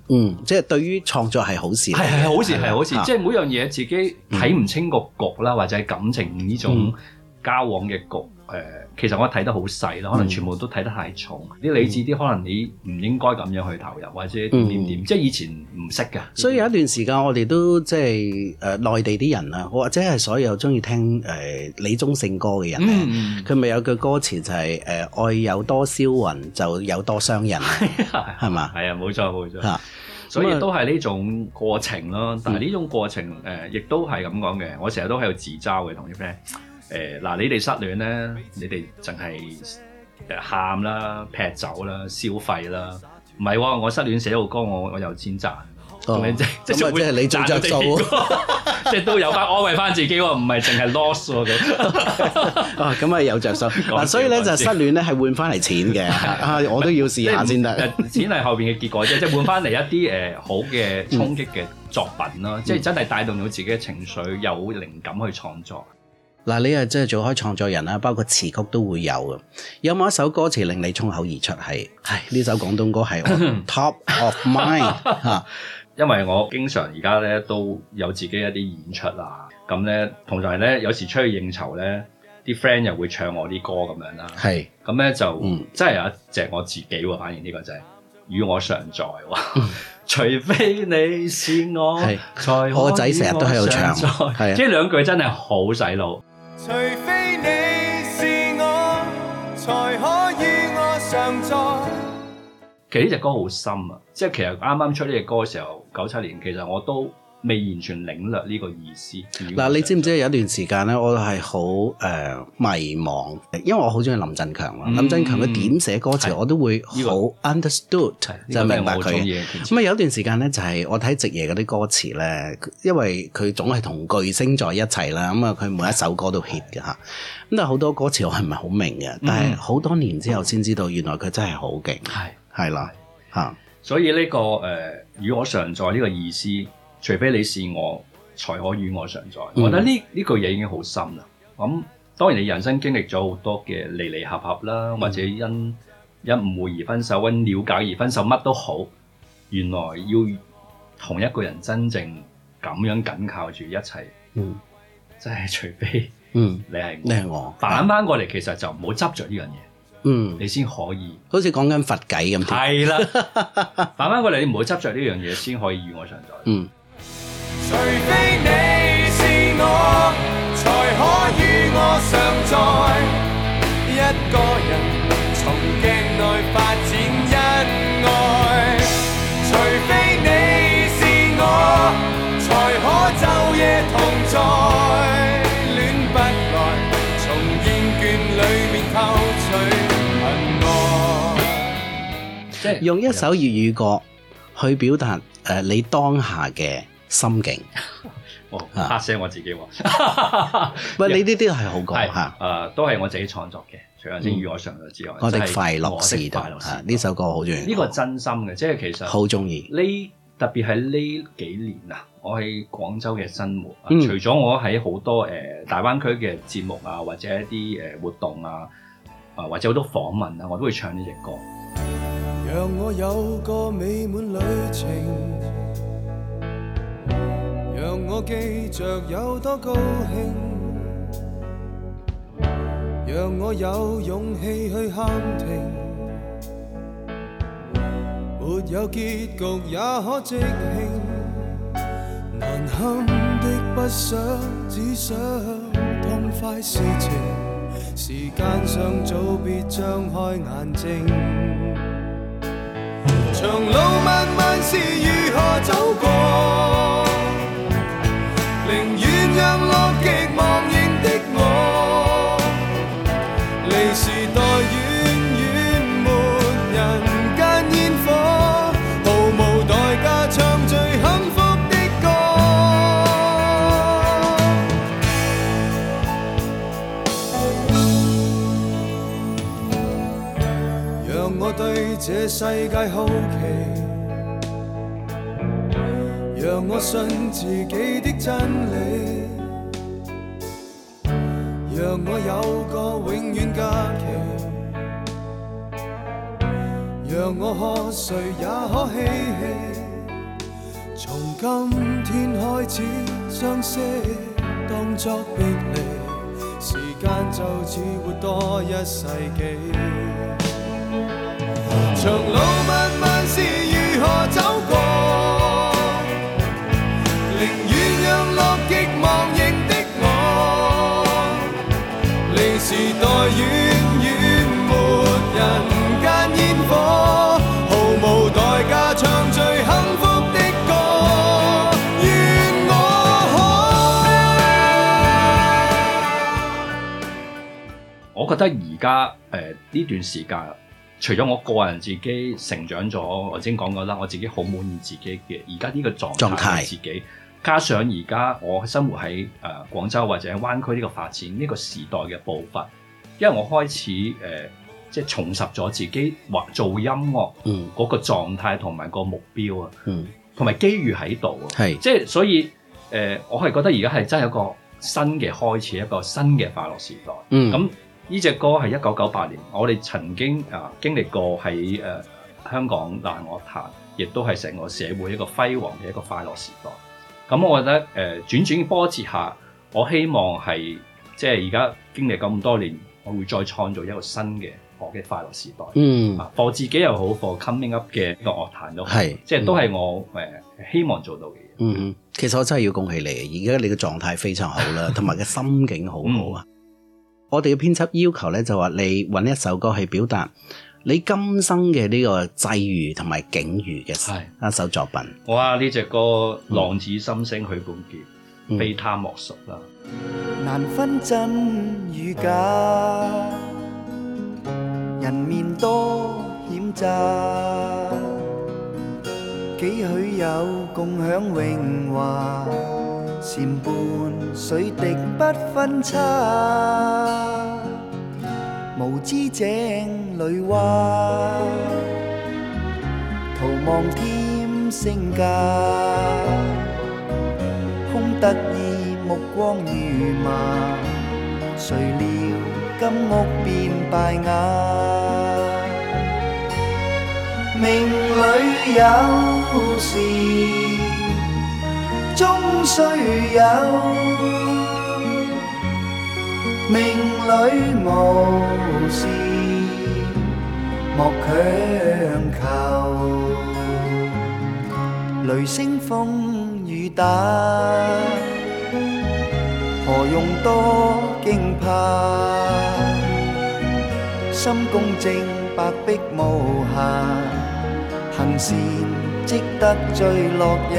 B: 即係對於創作係好事，
C: 係好事，係好事。即係每樣嘢自己睇唔清個局啦，或者係感情呢種交往嘅局，其實我睇得好細啦，可能全部都睇得太重。啲理智啲，可能你唔應該咁樣去投入，或者點，即係以前唔識㗎。
B: 所以有一段時間，我哋都即係內地啲人啊，或者係所有中意聽李宗盛歌嘅人咧，佢咪有句歌詞就係愛有多銷魂，就有多傷人，係嘛？係啊，
C: 冇錯。所以都係呢種過程咯。但係呢種過程亦都係咁講嘅。我成日都喺度自嘲嘅，同啲 friend。嗱，你哋失戀咧，你哋淨係喊啦、劈酒啦、消費啦，唔係喎，我失戀寫到歌，我有錢賺，
B: 即係你做着數，
C: 即係都有翻安慰翻自己喎，唔係淨係 loss 喎咁。
B: 咁啊有着數嗱，所以咧就失戀咧係換翻嚟錢嘅，我都要試下先得。
C: 錢係後邊嘅結果啫，即係換翻嚟一啲好嘅衝擊嘅作品咯，即係真係帶動到自己嘅情緒，有靈感去創作。
B: 嗱，你係真係做開創作人啦，包括詞曲都會有嘅。有冇一首歌詞令你衝口而出係呢首廣東歌係 top of mind 嚇？
C: 因為我經常而家咧都有自己一啲演出啊，咁咧同埋咧有時出去應酬咧，啲 friend 又會唱我啲歌咁樣啦。係，咁咧就真係有一隻我自己喎，反而呢個就係與我常在喎。除非你是我，才可。
B: 我個仔成日都喺度唱，
C: 即係兩句真係好洗腦。
E: 除非你是我，才可與我常在。
C: 其實呢隻歌好深啊！即係其實啱啱出呢隻歌嘅時候，97年，其實我都未完全領略呢個意思。
B: 嗱，你知唔知有一段時間咧，我係好迷茫，因為我好中意林振強啊。林振強佢點寫歌詞，我都會好 understood，就明白佢。咁啊有一段時間咧，就係我睇夕爺嗰啲歌詞咧，因為佢總係同巨星在一齊啦，咁啊佢每一首歌都 hit 嘅嚇。咁但係好多歌詞我係唔係好明嘅，但係好多年之後先知道，原來佢真係好勁。係啦嚇。所
C: 以呢個與我常在呢個意思。除非你是我，才可與我常在。我覺得呢句嘢已經好深啦。咁當然你人生經歷咗好多嘅離離合合啦，或者因誤會而分手，因了解而分手，乜都好。原來要同一個人真正咁樣緊靠住一齊，真係除非你係我。反翻過嚟，其實就唔好執着呢樣嘢。你先可以，
B: 好似講緊佛偈咁。
C: 係啦，反翻過嚟，你唔好執着呢樣嘢，先可以與我常在。
E: 除非你是我，才可與我常在。一個人從鏡內發展恩愛。除非你是我，才可晝夜同在。戀不來，從厭倦裏面偷取恨愛。
B: 用一首粵語歌去表達你當下嘅心境，
C: 嚇聲我自己喎。
B: 喂，你呢啲係好講嚇，
C: 都係我自己創作嘅。除咗先與我常在之外，
B: 我的快樂時代呢首歌好中意。
C: 呢個真心嘅，即係其實
B: 好中意。
C: 特別係呢幾年啊，我喺廣州嘅生活，除咗我喺好多大灣區嘅節目啊，或者一啲活動啊，或者好多訪問啊，我都會唱呢隻歌。
E: 讓我有個美滿旅程。讓我記着有多高興，讓我有勇氣去喊停，沒有結局也可即興，難堪的不想，只想痛快事情，時間尚早別張開眼睛，長路漫漫是如何走過，寧願讓樂極忘形的我，離時代遠遠沒人間煙火，毫無代價唱最幸福的歌。讓我對這世界好奇，讓我信自己的真理，讓我有個永遠假期，讓我喝誰也可嬉戲， 今天開始相識，當作別離，時間就似活多一世紀。長路漫漫是如何走過，寧願讓樂極忘形的我，離時代遠遠沒人間煙火，毫無代價唱最幸福的歌，願我可。
C: 我覺得而家呢段時間，除咗我個人自己成長咗，我先講過啦，我自己好滿意自己嘅而家呢個狀態自己，加上而家我生活喺廣州或者灣區呢個發展呢個時代嘅步伐，因為我開始即係重拾咗自己或做音樂嗰個狀態同埋個目標啊，同埋機遇喺度啊，即係所以我係覺得而家係真係一個新嘅開始，一個新嘅快樂時代。咁呢隻歌係1998年，我哋曾經經歷過喺香港流行樂壇，亦都係成個社會一個輝煌嘅一個快樂時代。咁我覺得轉轉波折下，我希望係即係而家經歷咁多年，我會再創造一個新嘅我嘅快樂時代。for 自己又好，for coming up 嘅一個樂壇都好，即係都係我希望做到嘅嘢。
B: 其實我真係要恭喜你，而家你嘅狀態非常好啦，同埋嘅心境好好啊。我哋嘅編輯要求咧，就話你揾一首歌去表達你今生嘅呢個際遇同埋境遇嘅一首作品。
C: 哇！呢隻歌浪子心聲許冠傑，非他莫屬啦。
E: 難分真與假，人面多險詐，幾許有共享榮華，禪伴水滴不分差，無知井裏蛙，徒望添聲價，空得意目光如麻，誰料金屋變敗瓦，命裏有時終須有，命裏無事莫強求，雷聲風雨打，何用多驚怕，心公正白璧無瑕，行善積得最樂也。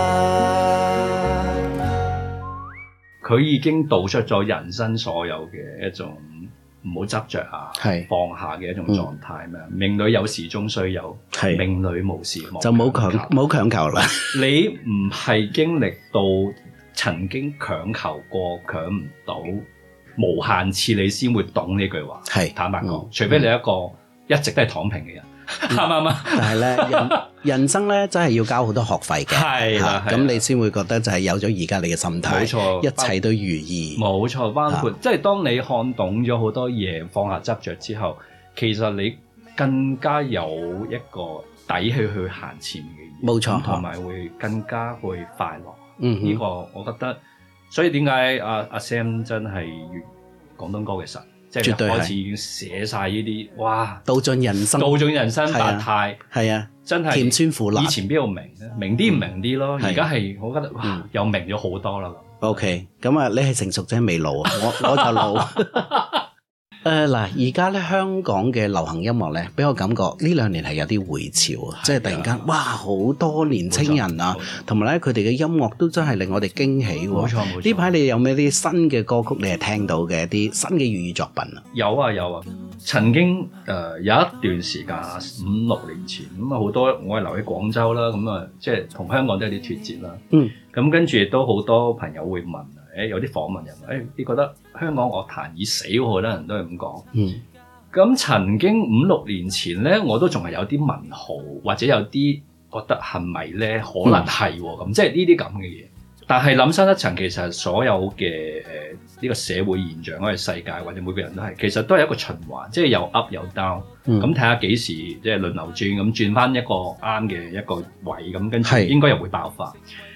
C: 佢已經道出咗人生所有嘅一種唔好執着啊，放下嘅一種狀態咩？命裏有時終須有，命裏無時莫
B: 就冇強求啦。
C: 你唔係經歷到曾經強求過，強唔到無限次，你先會懂呢句話。坦白講，除非你一個一直都係躺平嘅人。啱啱？
B: 但係咧，人生咧真係要交好多學費嘅，係啦，咁你先會覺得就係有咗而家你嘅心態，冇錯，一切都如意，
C: 冇錯。包括即係當你看懂咗好多嘢，放下執着之後，其實你更加有一個底氣去行前嘅嘢，
B: 冇錯，
C: 同埋會更加會快樂。呢個我覺得，所以點解阿 Sam 真係粵廣東歌嘅神？即係開始已經寫晒呢啲，哇！
B: 道盡人生
C: 百態，
B: 係啊，
C: 真係
B: 甜酸苦辣。
C: 以前邊度明啲唔明啲咯，而家係我覺得哇，又明咗好多啦。
B: OK， 咁啊，你係成熟啫，未老啊，我就老。嗱，而家咧香港嘅流行音樂咧，俾我感覺呢兩年係有啲回潮啊，即係突然間，哇，好多年青人啊，同埋咧佢哋嘅音樂都真係令我哋驚喜喎。冇錯。呢排你有咩啲新嘅歌曲你係聽到嘅一啲新嘅粵語作品啊？
C: 有啊。曾經有一段時間5-6年前，咁啊好多我係留喺廣州啦，咁啊即係同香港都有啲脫節啦。咁跟住亦都好多朋友會問。有啲訪問人話，你覺得香港樂壇已死喎？好多人都係咁講。咁曾經5-6年前咧，我都仲係有啲問號，或者有啲覺得係咪咧？可能係咁，即係呢啲咁嘅嘢。但係諗深一層，其實所有嘅呢個社會現象，或者世界，或者每個人都係，其實都係一個循環，即係有 up 有 down。咁睇下幾時即係輪流轉，咁轉翻一個啱嘅一個位，咁跟住應該又會爆發。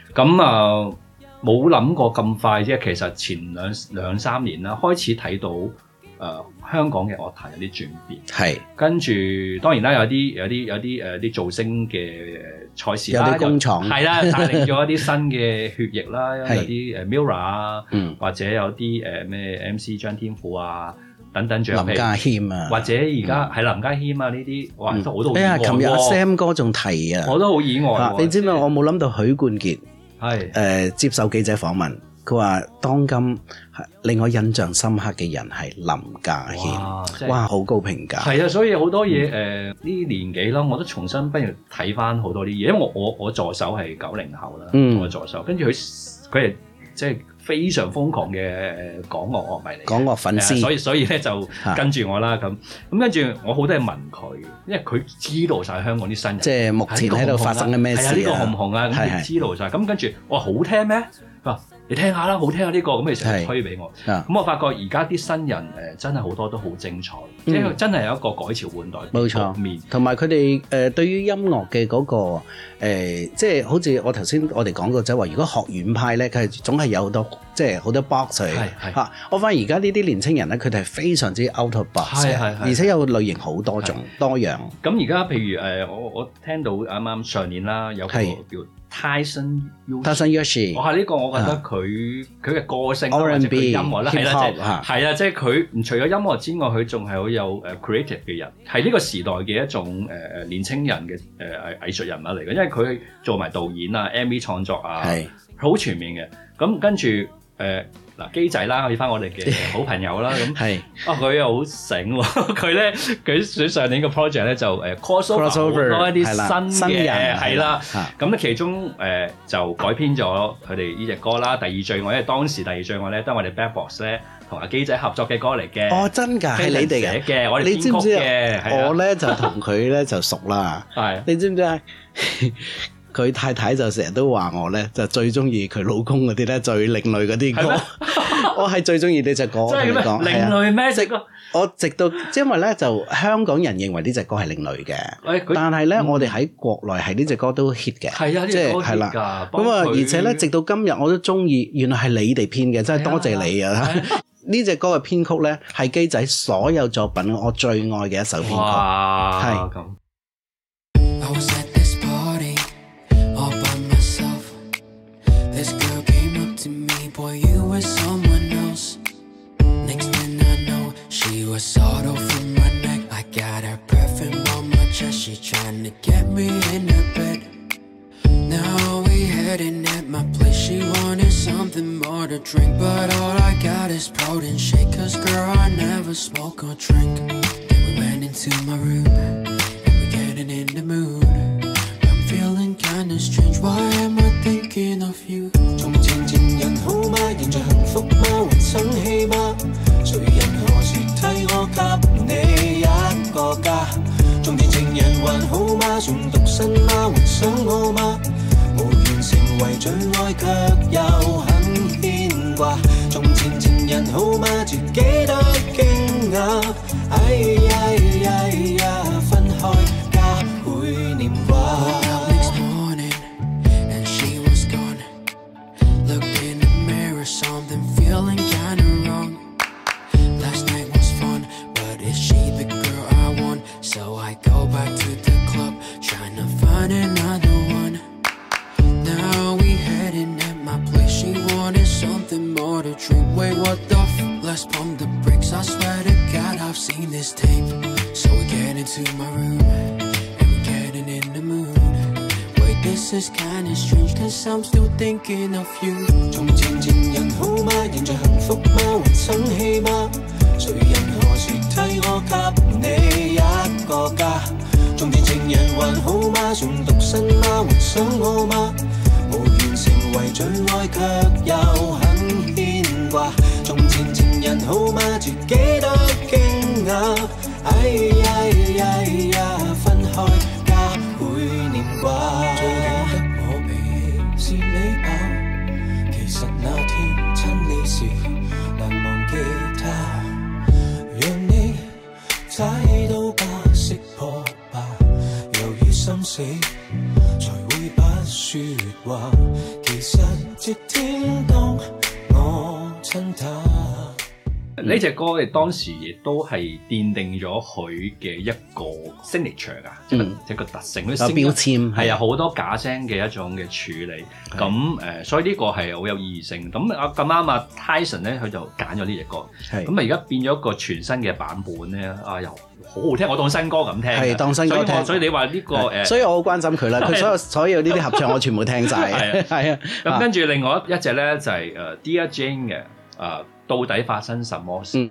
C: 咁啊冇諗過咁快啫。其實前兩三年啦，開始睇到香港嘅樂壇有啲轉變。係跟住當然啦，有啲造星嘅賽事啦，
B: 有啲工廠
C: 係啦，帶領咗一啲新嘅血液啦，有啲Mirror 啊，或者有啲咩 MC 張天賦啊。等等獎，
B: 林家謙啊，
C: 或者而家係林家謙啊呢啲，哇都好多好意外喎！
B: 琴日 Sam 哥仲提啊，
C: 我都好意外。
B: 你知唔知我冇諗到許冠傑係接受記者訪問，佢話當今令我印象深刻嘅人係林家謙，哇好高評價。
C: 係啊，所以好多嘢呢年紀啦，我都重新不如睇翻好多啲嘢，因為我助手係90後啦，我助手，跟住佢係即係。非常瘋狂嘅港樂樂迷嚟，
B: 港樂粉絲，
C: 所以咧就跟住我啦咁跟住我好多嘢問佢，因為佢知道晒香港啲新人，
B: 即係目前喺度發生緊咩事啊？
C: 呢個紅唔紅啊？咁佢知道晒，咁跟住我話好聽咩？佢話你聽下啦，好聽啊呢個，咁佢成日推俾我。咁我發覺而家啲新人真係好多都好精彩，即係真係有一個改朝換代
B: 冇錯面，同埋佢哋對於音樂嘅嗰個即係好似我頭先我哋講過就係話，如果學院派咧，佢係總係有好多即係好多 box 嚟嚇。我發現而家呢啲年青人咧，佢哋係非常之 out of box 而且有類型好多種多樣。
C: 咁而家譬如我聽到啱啱上年啦，有個叫Tyson
B: Yoshi，
C: 我係呢個，我覺得佢嘅個性或者佢音樂咧，係啦，即係佢除咗音樂之外，佢仲係好有creative 嘅人，係呢個時代嘅一種年青人嘅藝術人物嚟嘅，因為佢做埋導演啊、MV 創作啊，好全面嘅。咁跟住嗱機仔啦，去翻我哋嘅好朋友啦，咁佢又好醒喎，佢上年個 project 咧就crossover 多一啲新嘅係啦，咁咧其中就改編咗佢哋呢隻歌啦，第二最愛，因為當時第二最愛咧都係我哋 Bad Boss 咧同阿機仔合作嘅歌嚟嘅。
B: 哦，真㗎，係你哋
C: 嘅，我哋編曲嘅。
B: 我咧就同佢咧就熟啦，你知唔知啊？佢太太就成日都話我咧，就最中意佢老公嗰啲咧最另類嗰啲歌。我係最中意呢隻歌。
C: 真係咩？另類咩隻歌？
B: 我直到因為咧就香港人認為呢隻歌係另類嘅，但係咧我哋喺國內係呢隻歌都 hit 嘅。係啊，即係係啦。咁啊，而且咧直到今日我都中意，原來係你哋編嘅，真係多謝你啊！呢隻歌嘅編曲咧係機仔所有作品我最愛嘅一首編曲。係咁。
F: Boy, you were someone else. Next thing I know, she was sawed off from my neck. I got her perfume on my chest. She trying to get me in her bed. Now we heading at my place. She wanted something more to drink, but all I got is protein shake. 'Cause girl, I never smoke or drink. Then we went into my room, and we're getting in the mood. I'm feeling kinda strange. Why am I thinking of you?好嗎？現在幸福嗎？還生氣嗎？誰人何時替我給你一個家？中年情人還好嗎？仲獨身嗎？還想我嗎？無緣成為最愛，卻又很牽掛。從前情人好嗎？自己都驚訝。哎呀，分開加倍念掛。Something feeling kinda wrong. Last night was fun, but is she the girl I want? So I go back to the club, trying to find another one. Now we heading at my place. She wanted something more to drink. Wait, what the let's pump the brakes. I swear to God, I've seen this tape. So we get into my room, and we're getting in the mood. This is kinda strange, 'cause I'm still thinking of you. 從前情人好嗎？現在幸福嗎？還生氣嗎？誰人何時替我給你一個家？從前情人還好嗎？仲獨身嗎？還想我嗎？無緣成為最愛，卻又很牽掛。從前情人好嗎？自己都驚訝。哎呀，分開加倍念掛。是你吧？其實那天親你時難忘記他，讓你踩到吧，識破吧，由於心死才會不說話。其
C: 呢隻歌你當時亦都係奠定咗佢嘅一個 signature 㗎，一個特性，
B: 標籤
C: 係啊，好多假聲嘅一種嘅處理。咁所以呢個係好有意義性。咁咁啱啊 Tyson 咧，佢就揀咗呢隻歌。咁啊，而家變咗一個全新嘅版本咧，又好好聽，我當新歌咁聽。係當新歌聽。所以你話呢個
B: 所以我好關心佢啦。佢所有呢啲合唱我全部聽晒。係啊。
C: 咁跟住另外一隻咧就係Dear Jane 嘅到底發生什麼事？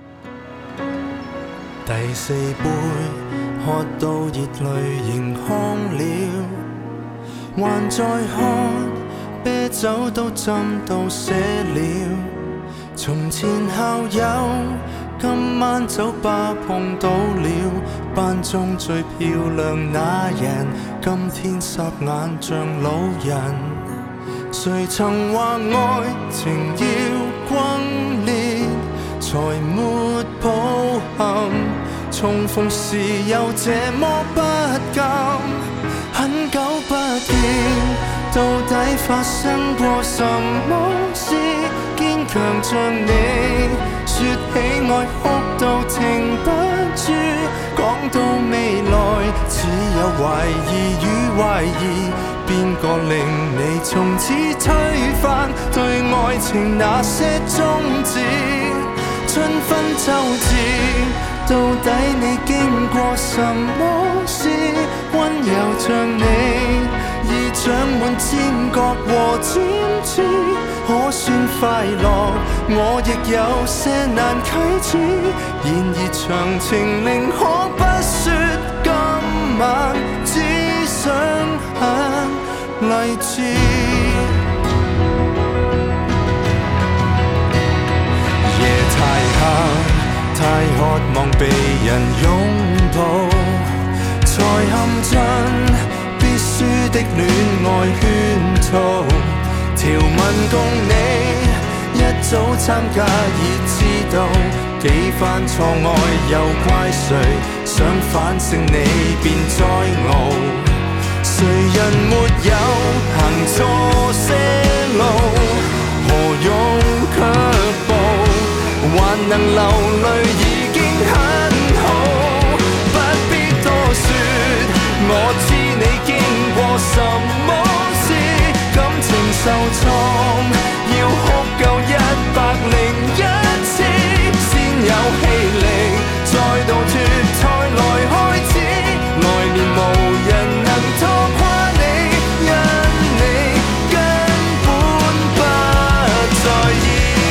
F: 第四杯喝到熱淚盈眶了，還在喝，啤酒都斟到瀉了。從前校友，今晚酒吧碰到了，班中最漂亮那人，今天霎眼像老人。誰曾話愛情要轟烈才沒抱憾，重逢時又這麼不甘，很久不見，到底發生過什麼事？堅強像你，說起愛哭到停不住，講到未來只有懷疑與懷疑。邊個令你從此推翻對愛情那些宗旨？春分秋至，到底你經過什麼事？溫柔像你，已長滿尖角和尖刺，可算快樂？我亦有些難啟齒。然而詳情寧可不說，今晚只想勵志。夜太黑，太渴望被人擁抱，才陷進必輸的戀愛圈套。條文共你一早參加已知道，幾番錯愛又怪誰？想反勝你便再熬。誰人沒有行錯些路？何用卻步？還能流淚已經很好。不必多說，我知你經過什麼事。感情受創，要哭夠101次，先有氣力再度脫胎來開始。來年無人能拖垮你，因你根本不在意。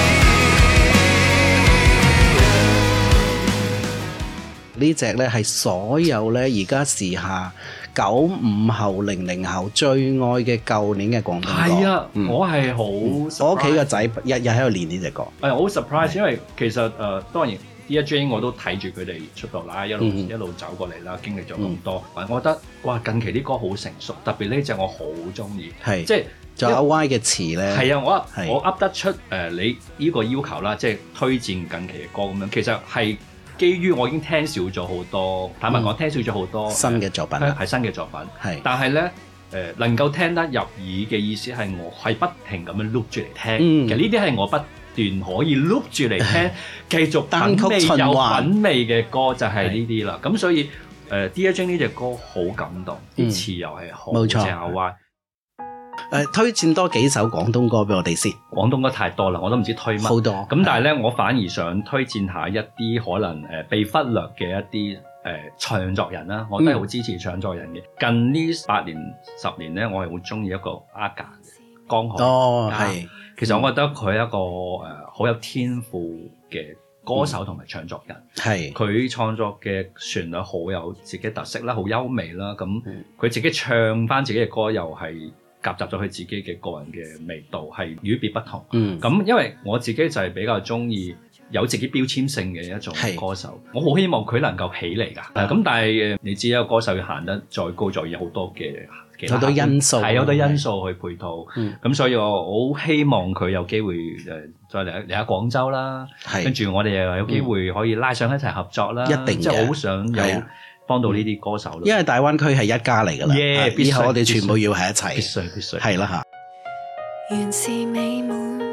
B: 呢隻咧係所有咧而家時下95後、00後最愛嘅舊年嘅廣東歌。
C: 係啊，我係好，
B: 我屋企個仔日日喺度練呢隻歌。
C: 我好 surprise， 因為其實當然。Dear Jane 我都睇住佢哋出道啦，一路走過嚟啦，經歷咗咁多。我覺得哇，近期啲歌好成熟，特別呢隻我好中意。係即係
B: 仲有 Y 嘅詞咧。係
C: 啊，我噏得出你呢個要求啦，即係推薦近期嘅歌咁樣。其實係基於我已經聽少咗好多，坦白講聽少咗好多
B: 新嘅作品，
C: 係新嘅作品。係，但係咧能夠聽得入耳嘅意思係我係不停咁樣 loop 住嚟聽。其實呢啲係我不段可以 loop 住嚟聽，繼續品味有品味嘅歌就係呢啲啦。咁所以Dear Jane 呢隻歌好感動，啲詞又係好正啊 Y。
B: 推薦多幾首廣東歌俾我哋先。
C: 廣東歌太多啦，我都唔知推乜。
B: 好多。
C: 咁但係咧，我反而想推薦下一啲可能被忽略嘅一啲唱作人啦。我都係好支持唱作人嘅。近呢8年10年咧，我係好中意一個阿簡嘅江海。
B: 哦，係。
C: 其實我覺得佢係一個好有天賦嘅歌手同埋唱作人，係佢創作嘅旋律好有自己特色啦，好優美啦。咁佢自己唱翻自己嘅歌又係夾雜咗佢自己嘅個人嘅味道，係與別不同。咁因為我自己就係比較中意有自己標籤性嘅一種歌手，我好希望佢能夠起嚟㗎。咁但係你知一個歌手要行得再高，再有好多嘅。
B: 好多因素
C: 係好多因素去配套，咁所以我好希望佢有機會再嚟下廣州啦，跟住我哋又有機會可以拉上一齊合作啦，一定即係好想有幫到呢啲歌手。
B: 因為大灣區係一家嚟㗎啦，以後我哋全部要喺一齊，
C: 必須
B: 係啦嚇。
A: 原是美滿，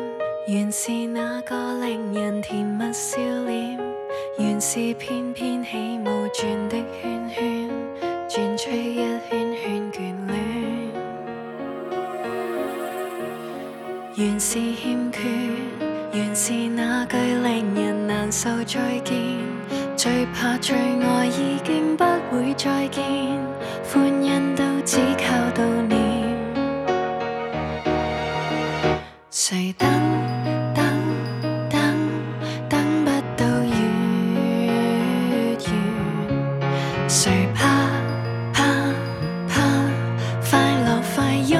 A: 原是那個令人甜蜜笑臉，原是翩翩起舞轉的圈圈，轉出一圈圈眷戀。原是欠缺，原是那句令人難受再見，最怕最愛已經不會再見，歡欣都只靠悼念。誰等等等等不到月圓，誰怕怕怕快樂快湧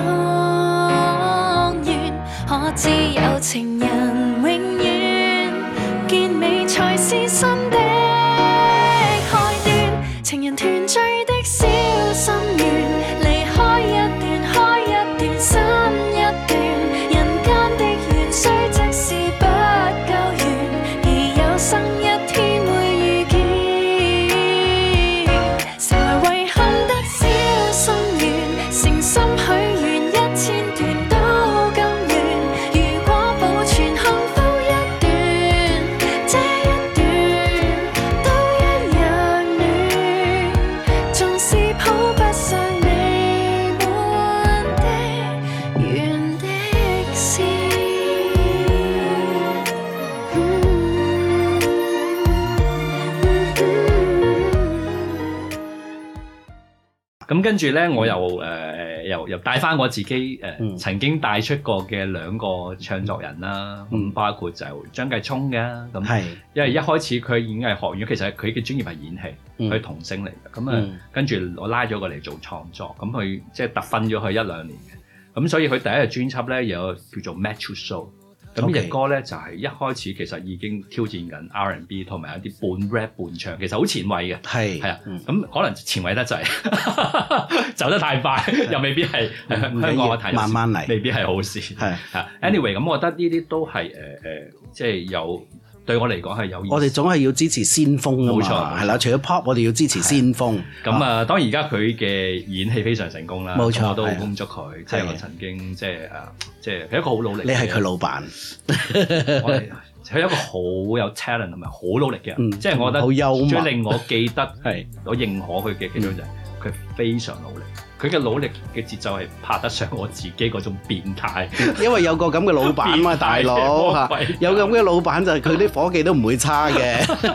A: 現，可知有情人永遠結尾才是新的開端，情人團聚的小心願，離開一段開一段新一段，人間的緣雖即是不夠圓，而有生一天會遇見，成為遺憾的小心願，誠心許願1000段都甘願，如果保存幸福一段，這一段都一樣暖，縱是抱不上未滿的原的事。
C: 咁跟住咧，我又帶翻我自己曾經帶出過嘅兩個唱作人啦，咁包括就張繼聰嘅，咁因為一開始佢演藝學院，其實佢嘅專業係演戲，佢係童星嚟嘅，咁跟住我拉咗佢嚟做創作，咁佢即係特訓咗佢1-2年嘅，咁所以佢第一隻專輯咧有叫做 Matthew Show。咁呢隻歌咧就係一開始其實已經挑戰緊 R&B 同埋一啲半 rap 半唱，其實好前衛嘅。係啊，咁可能前衛得滯，走得太快，又未必係香港嘅睇，慢慢嚟，未必係好事。係啊 ，anyway， 咁我覺得呢啲都係即係有對我嚟講係有意思。我哋總係要支持先鋒啊嘛，冇錯，係啦。除咗 pop， 我哋要支持先鋒。咁啊，當然而家佢嘅演戲非常成功啦，冇錯，我都好恭祝佢。即係我曾經即係佢一個好努力。你係佢老闆，佢係一個好有 talent 同埋好努力嘅人。即係我覺得好幽默，最令我記得係我認可佢嘅其中就係佢非常努力。佢嘅努力嘅節奏係拍得上我自己嗰種變態，因為有個咁嘅老闆嘛，大佬嚇，有咁嘅老闆就係佢啲夥計都唔會差嘅。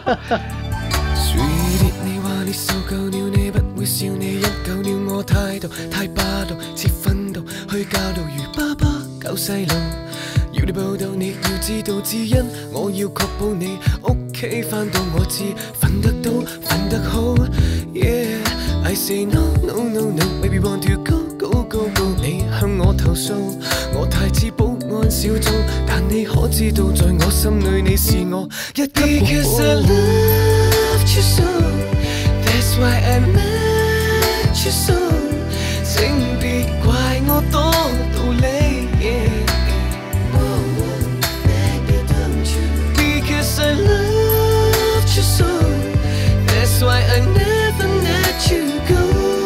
C: 你話你受夠了，你不會笑你一夠了，我態度太霸道，似訓導去教導如爸爸教細路，要你報道你要知道，只因我要確保你屋企返到我知，瞓得到瞓得好。Yeah，I say no no no no，baby want to go go go go， 你向我投訴，我太似保安小組，但你可知道在我心裏你是我一個。Because I loved you so，that's why I met you so， 請別怪我多道理。Because I loved you so，that's why I never let you go。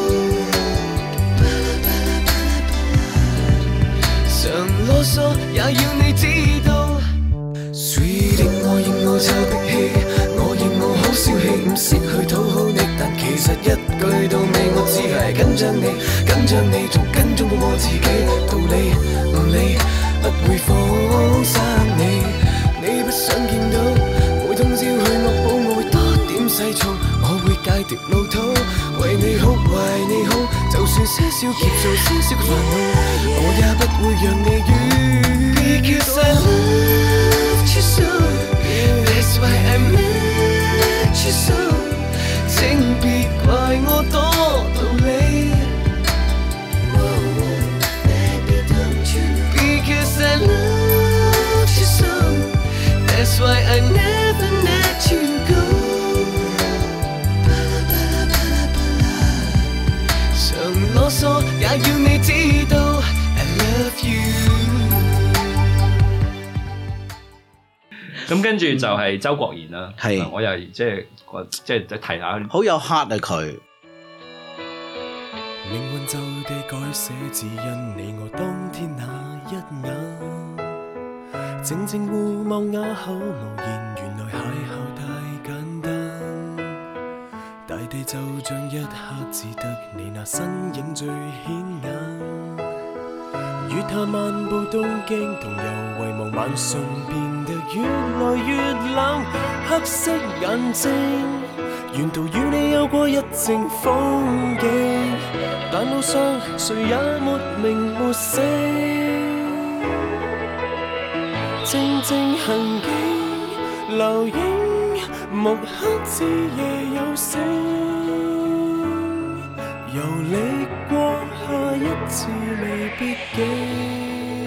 C: 常囉嗦也要你知道 ，Sweetie， 我認我臭脾氣，我認我好小氣，唔識去討好你，但其實一句到尾我只係緊張你，緊張你仲緊張過我自己，道理唔理，不會放生你，你不想見到，每通宵去惡補我會多點細燥，我會戒掉老土，為你好為你好，就算些少劫數些少嘅煩惱，我也不會讓你怨。Because I loved you so，that's why I met you so， 請別怪我多道理。Because I loved you so，that's why I never let you go。常囉嗦也要你知道 I love you。咁跟住就係周國賢啦，係我又即係提下，好有 heart 啊佢。命運就地改寫，只因你我當天那一眼，
F: 靜靜互望啞口無言，原來邂逅太簡單。大地就像一刻只得你那身影最顯眼。月下漫步東京，同遊遺忘，晚上變得越來越冷。黑色眼睛，沿途與你有過一程風景，但路上誰也沒名沒姓。靜靜行徑，留影，木刻至夜有聲，遊歷過下一次未必經。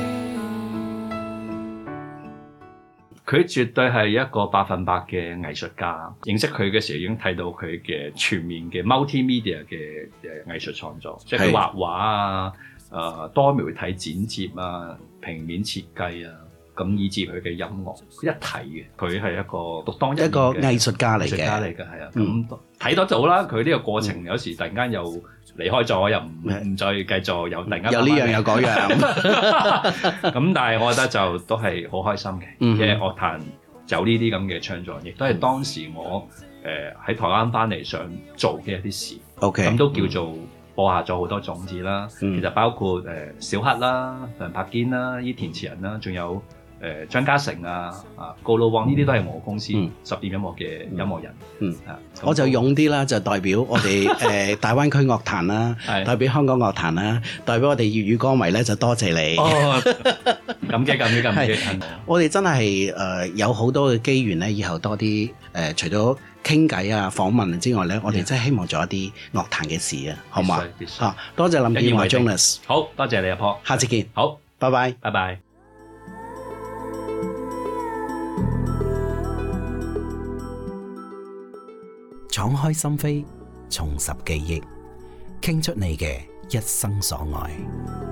C: 佢絕對係一個100%嘅藝術家。認識佢嘅時候已經睇到佢嘅全面嘅 multimedia 嘅藝術創作，即係佢畫畫啊、多媒體剪接啊、平面設計啊。咁以至佢嘅音樂一體嘅，佢係一個獨當一面嘅一個
B: 藝術家嚟嘅，
C: 係啊。咁睇得到啦，佢呢個過程有時突然間又離開咗，又唔再繼續，又突然間
B: 有呢樣有嗰樣。
C: 咁但係我覺得就都係好開心嘅，因為樂壇有呢啲咁嘅創作，亦都係當時我喺台灣翻嚟想做嘅一啲事。
B: OK， 咁
C: 都叫做播下咗好多種子啦。其實包括小黑啦、梁柏堅啦、依填詞人啦，仲有張家誠啊、高魯旺呢啲都係我公司10點音樂嘅音樂人。
B: 我就勇啲啦，就代表我哋大灣區樂壇啦，代表香港樂壇啦，代表我哋粵語歌迷咧，就多謝你。
C: 感激。
B: 我哋真係有好多嘅機緣咧，以後多啲除咗傾偈啊、訪問之外咧，我哋真係希望做一啲樂壇嘅事啊，好嘛？多謝林健華 Jonas，
C: 好多謝你阿婆，
B: 下次見。
C: 好，
B: 拜拜，
C: 拜拜。
B: 敞開心扉，重拾記憶，傾出你嘅一生所愛。